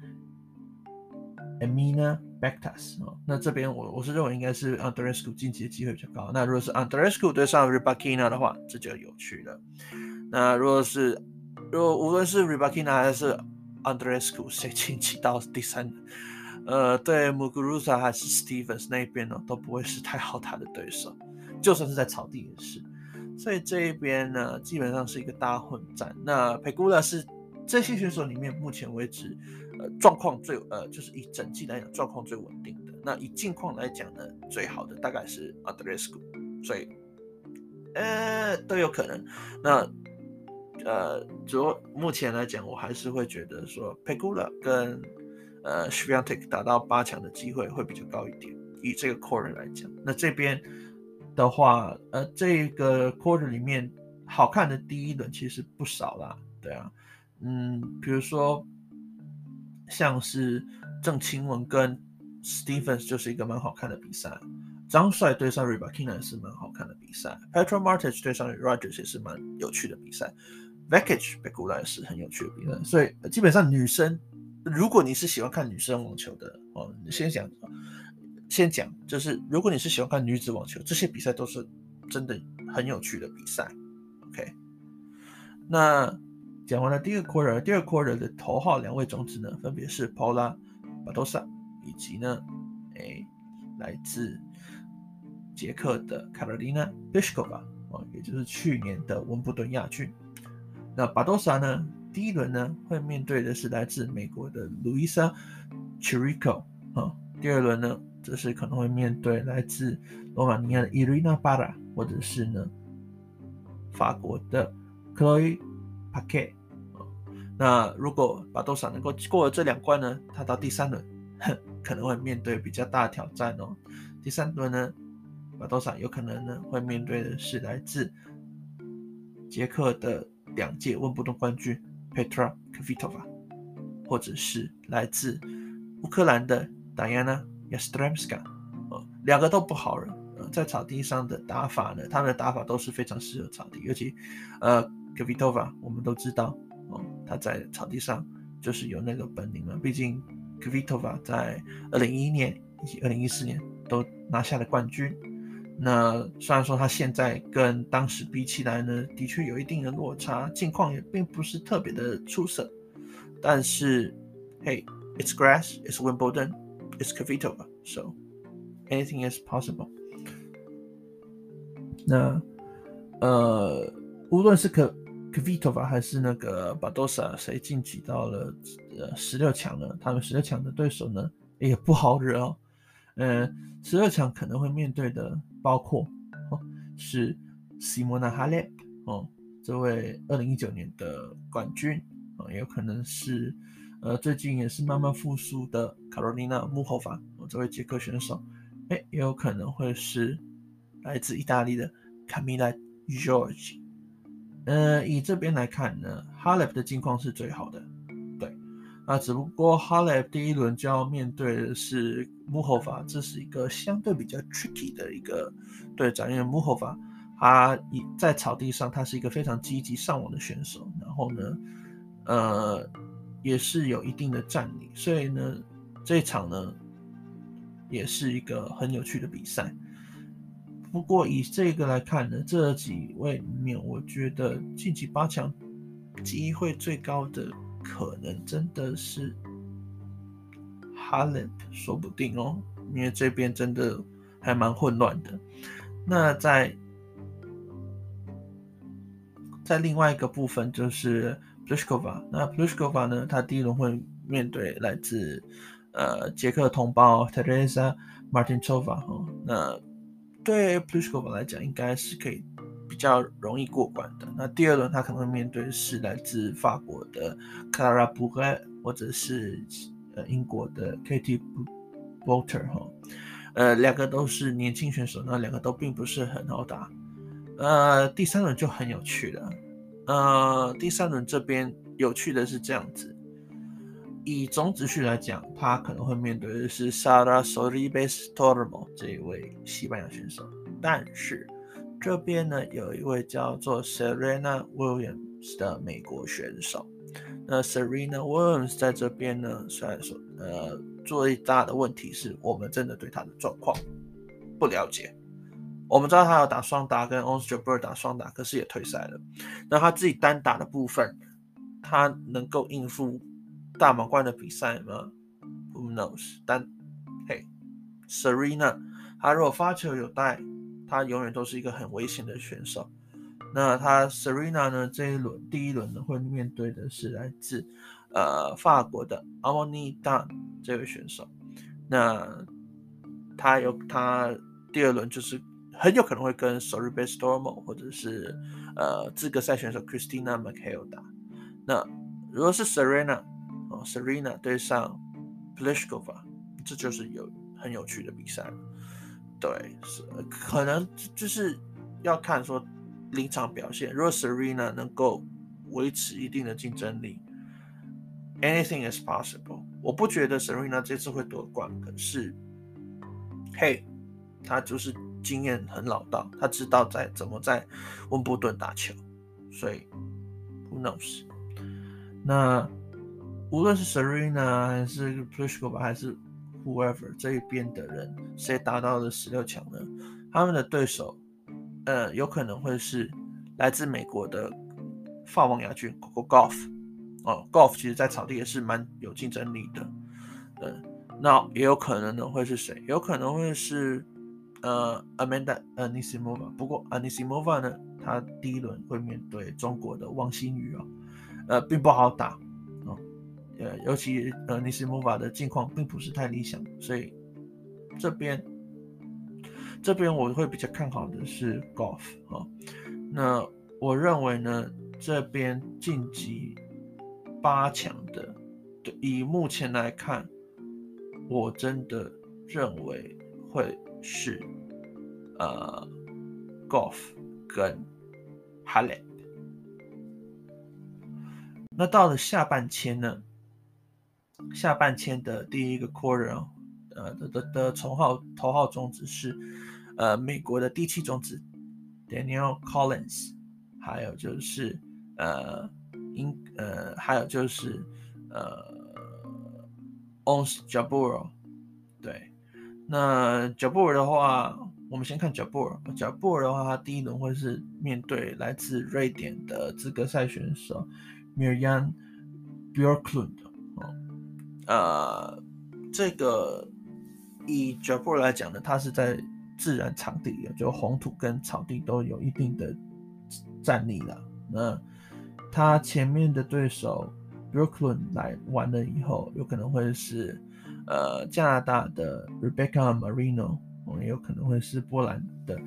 Emina Bektas，哦，那這邊我我是認為應該是 Andreescu 晉級的機會比較高。那如果是 Andreescu 對上 Rybakina 的話，這就有趣了。那如果是如果無論是 Rybakina 還是 Andreescu 誰晉級到第三，呃，對 Muguruza 還是 Stephens 那邊呢，都不會是太好打的對手，就算是在草地也是。所以這一邊呢，基本上是一個大混戰。那 Pegula 是這些選手裡面目前為止，呃，狀況最呃，就是以整季來講狀況最穩定的。那以近況來講呢，最好的大概是 Andreescu， 所以呃都有可能。那呃，主目前來講，我還是會覺得說 Pegula 跟呃 Swiatek 打到八強的機會會比較高一點。以這個 quarter 來講，那這邊的話，呃，這個 quarter 裡面好看的第一輪其實不少啦，對啊。嗯，比如說像是鄭欽文跟 Stephens 就是一個蠻好看的比賽，張帥對上 Rybakina 也是蠻好看的比賽， Petra Martic 對上 Rogers 也是蠻有趣的比賽， Vekic Pegula 也是很有趣的比賽。所以基本上女生，如果你是喜歡看女生網球的哦，你先講先講就是如果你是喜歡看女子網球，這些比賽都是真的很有趣的比賽。 OK， 那講完了第一個 quarter， 第二 quarter 的頭號兩位種子呢，分別是 Paula Badosa 以及呢，誒，來自捷克的 Karolina Pliskova，哦，也就是去年的溫布頓亞軍。那 Badosa 呢，第一輪呢會面對的是來自美國的 Luisa Chirico，哦，第二輪呢這是可能會面對來自羅馬尼亞的 Irina Bara， 或者是呢法國的 Chloé Paquet。那如果巴多薩能夠過了這兩關呢，他到第三輪可能會面對比較大的挑戰哦。第三輪呢，巴多薩有可能呢會面對的是來自捷克的兩屆溫布頓冠軍 Petra Kvitova， 或者是來自烏克蘭的 Diana Yastremska，呃，兩個都不好人，呃，在草地上的打法呢，他們的打法都是非常適合草地，尤其呃 Kvitova 我們都知道。他在草地上就是有那個本領嘛，畢竟 Kvitova 在二零一一年以及二零一四年都拿下了冠軍。那雖然說他現在跟當時比起來呢，的確有一定的落差，近況也並不是特別的出色，但是 Hey, it's grass, it's Wimbledon, it's Kvitova, so anything is possible。 那呃，無論是可Kvitova 還是那個巴多薩，誰晉級到了呃十六強呢？他們十六強的對手呢也不好惹哦。呃，十六強可能會面對的包括、哦、是 Simona Halep 哦，這位二零一九年的冠軍哦，也有可能是呃最近也是慢慢復甦的 Karolina Muchova 哦，這位捷克選手，哎，也有可能會是來自意大利的 Camila Giorgi。呃，以這邊來看呢，哈雷普的境況是最好的，對，那只不過哈雷普第一輪就要面對的是穆霍法，這是一個相對比較 tricky 的一個對戰，因為穆霍法他在草地上他是一個非常積極上網的選手，然後呢，呃，也是有一定的戰力，所以呢，這一場呢也是一個很有趣的比賽。不過以這個來看呢，這幾位裡面，我覺得晉級八強機會最高的可能真的是 Halep， 說不定哦，因為這邊真的還蠻混亂的。那在在另外一個部分就是 Pliskova， 那 Pliskova 呢，他第一輪會面對來自呃捷克同胞 Teresa Martincova，哦，那對 Pliskova 來講，應該是可以比較容易過關的。那第二輪他可能會面對的是來自法國的 Clara Burel， 或者是呃英國的 Katie Boulter 哈，呃，兩個都是年輕選手，那兩個都並不是很好打。呃，第三輪就很有趣了。呃，第三輪這邊有趣的是這樣子。以種子序來講，他可能會面對的是 Sara Sorribes Tormo 這一位西班牙選手，但是這邊呢有一位叫做 Serena Williams 的美國選手。那 Serena Williams 在這邊呢，雖然說呃最大的問題是我們真的對他的狀況不了解。我們知道他有打雙打跟 Ons Jabeur 打雙打，可是也退賽了。那他自己單打的部分，他能夠應付大滿貫的比賽嗎 ？Who knows？ 但嘿 ，Serena， 他如果發球有帶，他永遠都是一個很危險的選手。那他 Serena 呢？這一輪第一輪呢會面對的是來自呃法國的 Amaury Dan 這位選手。那他有他第二輪就是很有可能會跟 Sorribes Tormo 或者是呃資格賽選手 Christina McHale 打。那如果是 Serena哦 Serena 對上 Pliskova， 這就是有很有趣的比賽了。對，可能就是要看說臨場表現。如果 Serena 能夠維持一定的競爭力 ，anything is possible。我不覺得 Serena 這次會奪冠，可是，嘿，他就是經驗很老道，他知道在怎麼在溫布頓打球，所以 who knows？ 那無論是 Serena 還是 Pliskova 還是 whoever 這一邊的人，誰達到了十六強呢？他們的對手，呃，有可能會是來自美國的法網亞軍 Coco Gauff。哦 ，Gauff 其實在草地也是蠻有競爭力的。嗯，那也有可能呢會是誰？有可能會是呃 Amanda Anisimova。不過 Anisimova 呢，她第一輪會面對中國的王欣瑜哦，呃，並不好打。呃，尤其呃尼斯莫瓦的境況並不是太理想，所以這邊這邊我會比較看好的是 Gauff 啊。那我認為呢，這邊晉級八強的，以目前來看，我真的認為會是呃 Gauff 跟 Halep。那到了下半签呢？下半签的第一個 quarter， 呃的的的頭號頭號種子是呃美國的第七種子 Danielle Collins， 還有就是呃英呃還有就是呃 Ons Jabeur。對，那 Jabeur 的話，我們先看 Jabeur。Jabeur 的話，他第一輪會是面對來自瑞典的資格賽選手 Mirjam Björklund。呃，這個以 Jabeur 來講呢，他是在自然場地裡，就紅土跟草地都有一定的戰力了。那他前面的對手 Björklund 來完了以後，有可能會是呃加拿大的 Rebecca Marino，也有可能會是波蘭的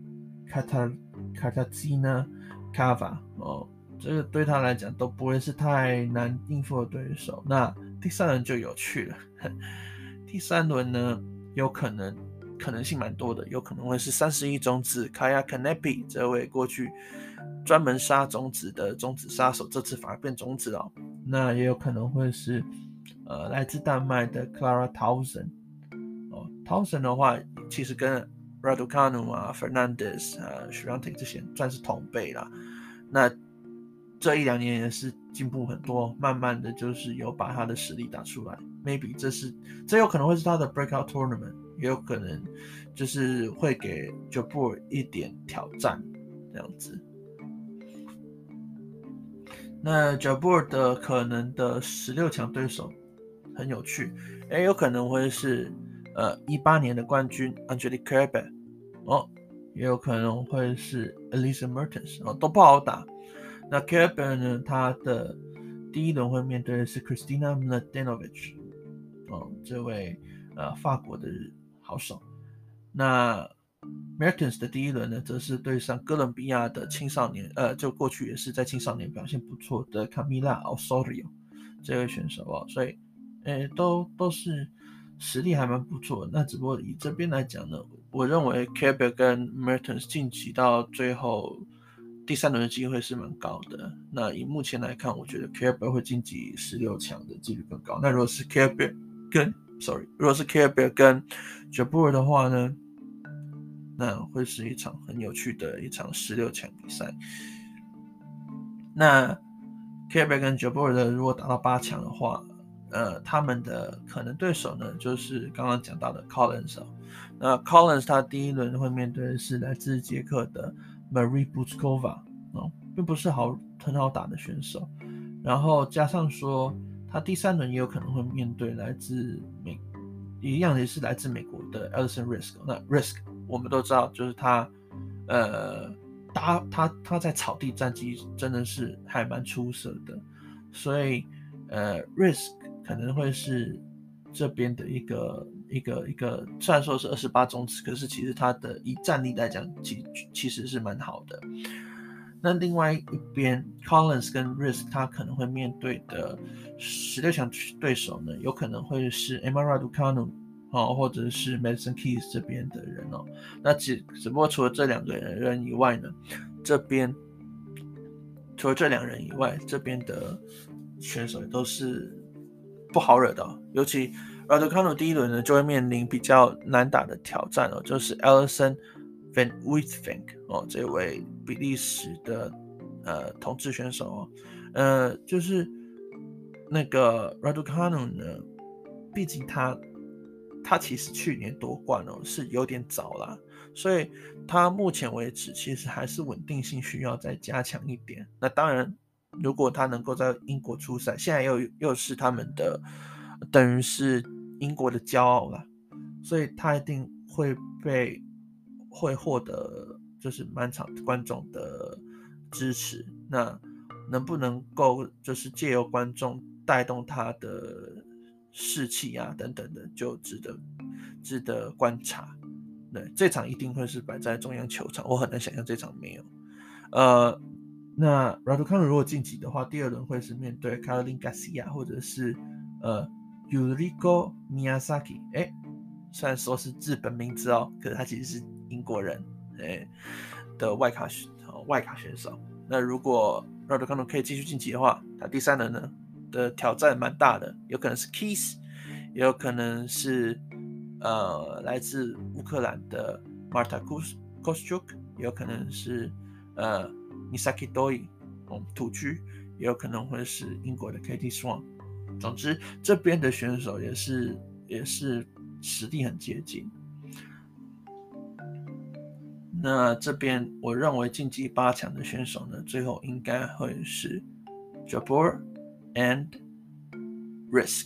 Katarzyna Kawa 哦。這個對他來講都不會是太難應付的對手。那第三輪就有趣了，第三輪呢，有可能可能性蠻多的，有可能會是三十一種子 Kaia Kanepi 這位過去專門殺種子的種子殺手，這次反而變種子了。那也有可能會是呃來自丹麥的 Clara Tauson。哦 Tauson 的話，其實跟 Raducanu 啊、Fernandez 啊、Swiatek 這些算是同輩啦。那這一兩年也是進步很多，慢慢的就是有把他的實力打出來。Maybe 這是這有可能會是他的 breakout tournament， 也有可能就是會給 Jabeur 一點挑戰這樣子。那 Jabeur 的可能的十六強對手很有趣，也有可能會是呃一八年的冠軍 Angelique Kerber 哦，也有可能會是 Elise Mertens 哦，都不好打。那 Kerber 呢？他的第一輪會面對的是 Kristina Mladenovic， 哦，這位呃法國的好手。那 Mertens 的第一輪呢，則是對上哥倫比亞的青少年，呃，就過去也是在青少年表現不錯的 Camila Osorio 這位選手哦，所以，呃，都都是實力還蠻不錯的。那只不過以這邊來講呢，我認為 Kerber 跟 Mertens 晉級到最後第三輪的機會是蠻高的。那以目前來看，我覺得 Kerber 會晉級十六強的幾率更高。那如果是 Kerber 跟 sorry， 如果是 Kerber 跟 Jabeur 的話呢，那會是一場很有趣的一場十六強比賽。那 Kerber 跟 Jabeur 的如果打到八強的話，呃，他們的可能對手呢，就是剛剛講到的 Collins。那 Collins 他第一輪會面對的是來自捷克的Marie Bouzkova，哦，並不是好很好打的選手，然後加上說他第三輪也有可能會面對來自美，一樣也是來自美國的 Alison Riske。那 Riske 我們都知道，就是他，呃，他他他在草地戰績真的是還蠻出色的，所以呃 Riske 可能會是這邊的一個。一個一個，雖然說是二十八種子，可是其實他的以戰力來講，其其實是蠻好的。那另外一邊 ，Collins 跟 Riske 他可能會面對的十六強對手呢，有可能會是 Emma Raducanu 哦，或者是 Madison Keys 這邊的人哦。那只只不過除了這兩個人以外呢，這邊除了這兩人以外，這邊的選手也都是不好惹的哦，尤其。Raducanu 第一輪呢就會面臨比較難打的挑戰哦，就是 Alison Van Uytvanck 哦，這位比利時的呃同志選手哦，呃就是那個 Raducanu 呢，畢竟他他其實去年奪冠哦是有點早啦，所以他目前為止其實還是穩定性需要再加強一點。那當然，如果他能夠在英國出賽，現在又又是他們的等於是。英國的驕傲啦，所以他一定會被會獲得就是滿場觀眾的支持。那能不能夠就是借由觀眾帶動他的士氣啊等等的，就值得值得觀察。對，這場一定會是擺在中央球場，我很難想象這場沒有。呃，那 Raducanu 如果晉級的話，第二輪會是面對 Caroline Garcia 或者是呃 Yuriko Miyazaki。哎，雖然說是日本名字哦，可是他其實是英國人，哎的外卡選、哦、外卡選手。那如果 Raducanu 可以繼續晉級的話，他第三輪呢的挑戰蠻大的，有可能是 Keys， 也有可能是呃來自烏克蘭的 Marta Kostyuk， 也有可能是呃 Misaki Doi， 嗯，土居，也有可能會是英國的 Katie Swan。總之，這邊的選手也是也是實力很接近。那這邊我認為晉級八強的選手呢，最後應該會是 Jabeur and Risk。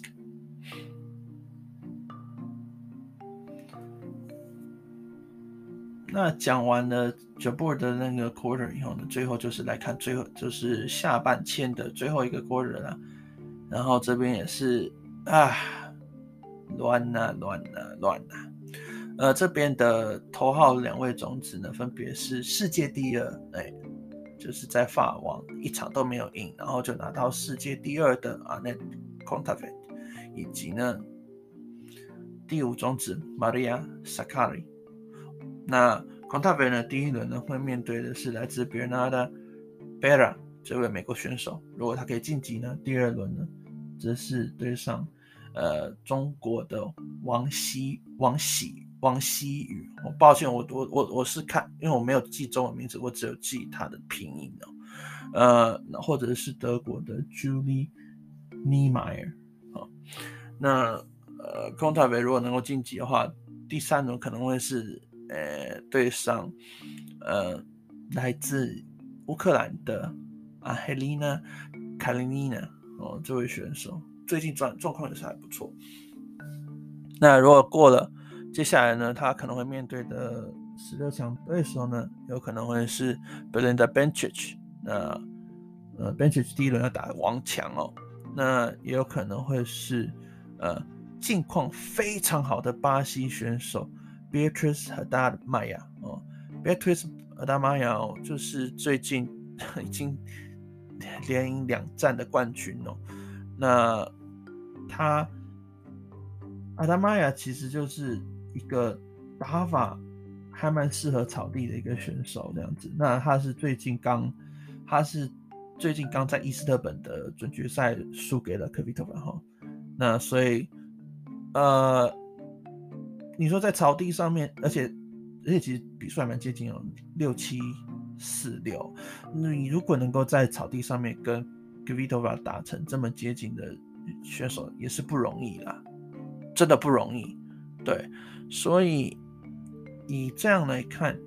那講完了 Jabeur 的那個 quarter 以後呢，最後就是來看最後就是下半簽的最後一個 quarter 了。然後這邊也是啊，亂吶亂吶亂吶。呃，這邊的頭號兩位種子呢，分別是世界第二，哎，就是在法網一場都沒有贏，然後就拿到世界第二的 Anett Kontaveit， 以及呢第五種子 Maria Sakkari。那 Kontaveit 呢，第一輪呢會面對的是來自 Bernarda Pera 這位美國選手，如果他可以晉級呢，第二輪呢則是對上呃中國的王希王喜。王希宇，我抱歉，我我我我是看，因为我沒有記中文名字，我只有記他的拼音哦。呃，或者是德國的 Julie Niemeyer。好，那呃 Kontaveit 如果能夠晉級的話，第三輪可能會是呃對上呃來自烏克蘭的 Anhelina Kalinina 哦，這位選手最近狀狀況也是還不錯。那如果過了，接下來呢，他可能會面對的十六強對手呢，有可能會是 Belinda Bencic。那呃 Bencic 第一輪要打王強哦，那也有可能會是呃近況非常好的巴西選手 Beatriz Haddad Maia 哦 ，Beatriz Haddad Maia 哦，就是最近已經連贏兩戰的冠軍哦。那他 Haddad Maia 其實就是一個打法還蠻適合草地的一個選手，這樣子。那他是最近剛，他是最近剛在伊斯特本的準決賽輸給了 Kvitova 哈。那所以，呃，你說在草地上面，而且而且其實比數還蠻接近哦，六七四六。你如果能夠在草地上面跟 Kvitova 打成這麼接近的選手，也是不容易啦，真的不容易。對，所以以這樣來看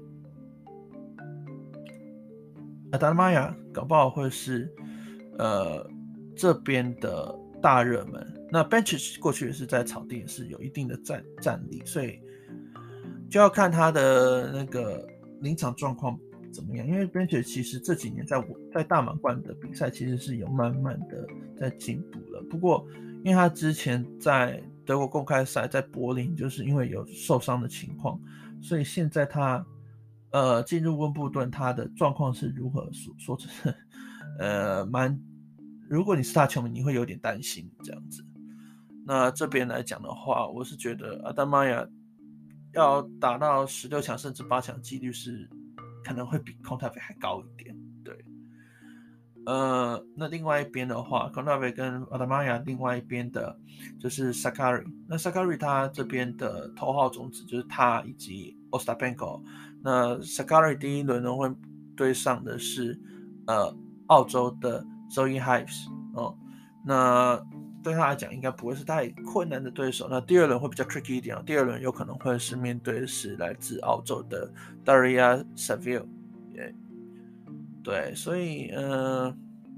Haddad Maia 搞不好會是呃這邊的大熱門。那 Bencic 過去也是在草地也是有一定的戰戰力，所以就要看他的那個臨場狀況怎麼樣。因為 Bencic 其實這幾年在在大滿貫的比賽其實是有慢慢的在進步了，不過因為他之前在德國公開賽在柏林就是因為有受傷的情況，所以現在他呃進入溫布頓他的狀況是如何說說真的呃蠻，如果你是他球迷你會有點擔心這樣子。那這邊來講的話，我是覺得 Haddad Maia 要打到十六強甚至八強幾率是可能會比 Kontaveit 還高一點。對，呃，那另外一邊的話 Kontaveit 跟 Haddad Maia 另外一邊的就是 Sakkari。那 Sakkari 他這邊的頭號種子就是他以及 Ostapenko。那 Sakkari 第一輪呢會對上的是呃澳洲的 Zoe Hives 哦，那對他來講應該不會是太困難的對手。那第二輪會比較 tricky 一點哦，第二輪有可能會是面對的是來自澳洲的 Daria Saville。Yeah. 對，所以呃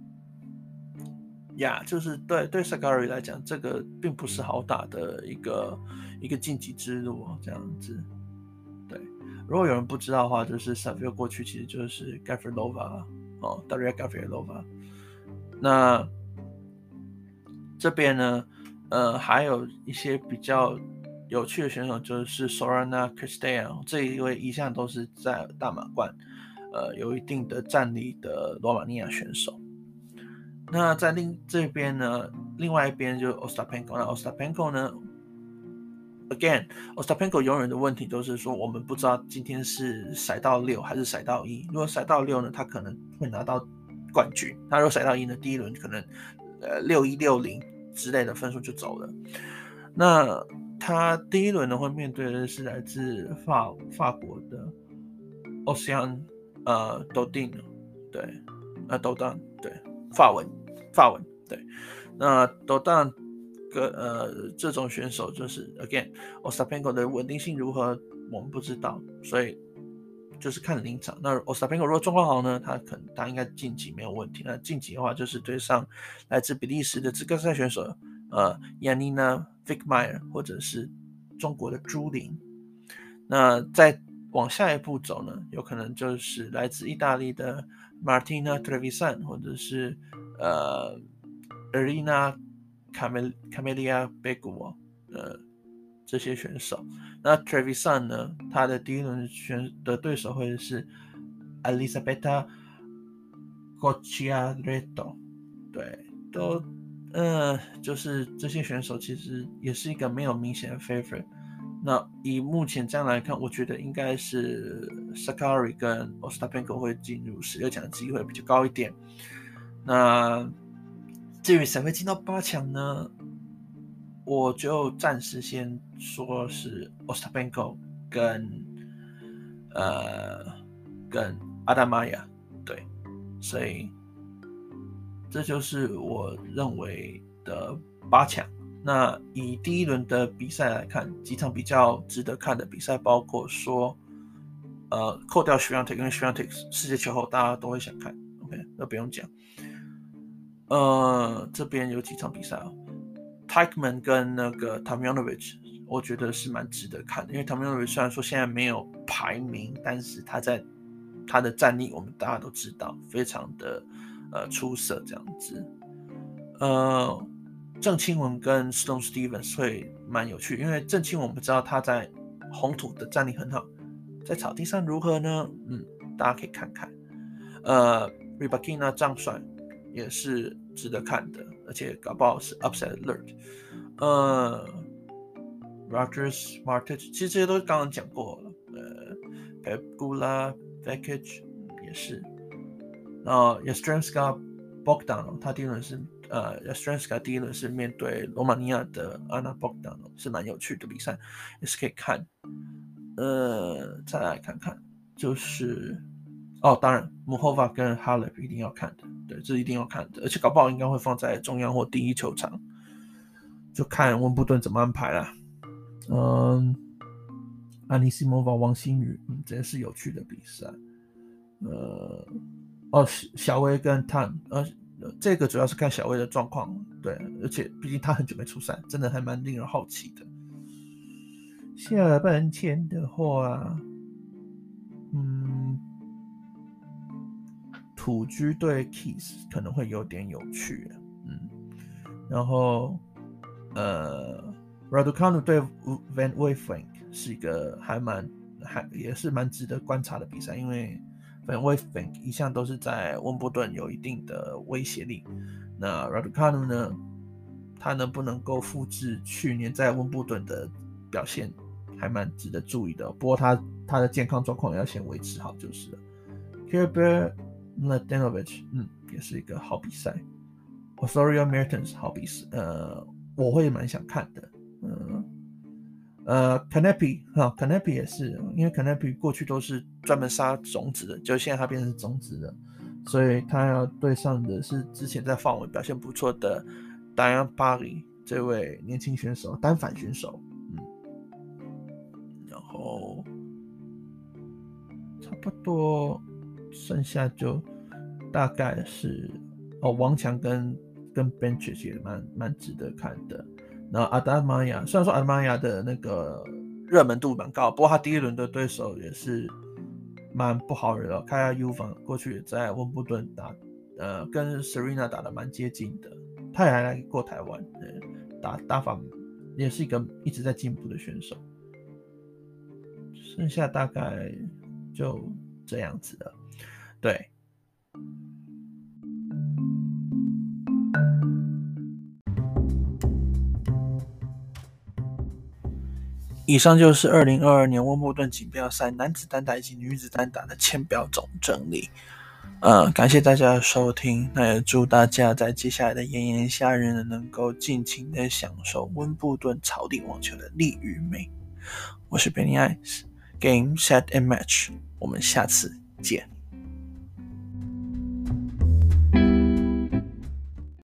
呀，就是對對 Sakkari 來講，這個並不是好打的一個一個晉級之路哦，這樣子。對，如果有人不知道的話，就是 Saville 過去其實就是 Gavrilova 哦 ，Daria Gavrilova。那這邊呢，呃，還有一些比較有趣的選手就是 Sorana Cirstea， 這一位一向都是在大滿貫呃有一定的戰力的羅馬尼亞選手。那在另這邊呢，另外一邊就是 Ostapenko。那 Ostapenko 呢 ，again Ostapenko 永遠的問題都是說，我們不知道今天是骰到六還是骰到一。如果骰到六呢，他可能會拿到冠軍；他如果骰到一呢，第一輪可能呃六一六零之類的分數就走了。那他第一輪呢，會面對的是來自法法國的 Océane 呃 Dodin， 對，呃 Dodin 對，法文。法文對，那 Dodin 跟呃這種選手就是 again Ostapenko 的穩定性如何我們不知道，所以就是看臨場。那 Ostapenko 如果狀況好呢，他可能他應該晉級沒有問題。那晉級的話就是對上來自比利時的資格賽選手呃 Yanina Wickmeyer 或者是中國的朱琳。那再往下一步走呢，有可能就是來自意大利的 Martina Trevisan 或者是呃 Irina Camelia Begu 呃這些選手。那 Trevisan 呢，他的第一輪選的對手會是 Elisabetta Cocciaretto， 對，都呃就是這些選手其實也是一個沒有明顯的 favorite。那以目前這樣來看，我覺得應該是 Sakkari 跟 Ostapenko 會進入十六強的機會比較高一點。那至於誰會進到八強呢？我就暫時先說是 Ostapenko 跟呃跟 Adam Maia， 對，所以這就是我認為的八強。那以第一輪的比賽來看，幾場比較值得看的比賽，包括說，呃，扣掉 Swiatek， 因為 Swiatek 世界球後大家都會想看 ，OK， 那不用講。呃，這邊有幾場比賽哦 Teichmann 跟那個 Tomljanovic， 我覺得是蠻值得看的，因為 Tomljanovic 雖然說現在沒有排名，但是他在他的戰力我們大家都知道，非常的呃出色這樣子，呃。鄭欽文跟 Sloane Stephens 會蠻有趣，因為鄭欽文我們知道他在紅土的戰力很好，在草地上如何呢？嗯，大家可以看看。呃 Rybakina 張帥也是值得看的，而且搞不好是 upset alert。呃 Rogers Martic 其實這些都剛剛講過了。呃 Pegula Vekic 也是，然後 Yastremska Bogdanov 他第一輪是。呃 Yastremska 第一輪是面對羅馬尼亞的 Anna Bogdanov， 是蠻有趣的比賽，也是可以看。呃，再來看看，就是哦，當然 Muchova 跟 Halep 一定要看的，對，這一定要看的，而且搞不好應該會放在中央或第一球場，就看溫布頓怎麼安排啦。嗯 Anisimova 王欣雨，嗯，這也是有趣的比賽。呃，哦，小威跟 Tan， 呃。這個主要是看小威的狀況，對，而且畢竟他很久沒出賽，真的還蠻令人好奇的。下半簽的話，嗯，土居對 Keys 可能會有點有趣，嗯，然後呃 Raducanu 對 Van Uytvanck 是一個還蠻還也是蠻值得觀察的比賽，因為Van Uytvanck 一向都是在溫布頓有一定的威脅力。那 Raducanu 呢？他能不能夠複製去年在溫布頓的表現，還蠻值得注意的。不過他他的健康狀況要先維持好就是了。Kirill Mladenovic， 嗯，也是一個好比賽。Osorio Mertens 好比賽，呃，我會蠻想看的。嗯。呃 Kanepi 哈 Kanepi 也是，因為 Kanepi 過去都是專門殺種子的，就現在他變成種子的，所以他要對上的是之前在法文表現不錯的 Diane Parry 這位年輕選手，單反選手，嗯，然後差不多剩下就大概是哦，王強跟跟 Bencic 也蠻蠻值得看的。然後阿達瑪亞，雖然說阿達瑪亞的那個熱門度蠻高，不過他第一輪的對手也是蠻不好惹的。卡亞尤凡過去也在溫布頓打，呃，跟 Serena 打得蠻接近的，他也還來過台灣，打打法也是一個一直在進步的選手。剩下大概就這樣子了，對。以上就是二零二二年溫布頓錦標賽男子單打以及女子單打的簽表總整理。呃，感謝大家的收聽，那也祝大家在接下來的炎炎夏日呢，能夠盡情的享受溫布頓草地網球的力與美。我是 Benny Ice，Game Set and Match，我們下次見。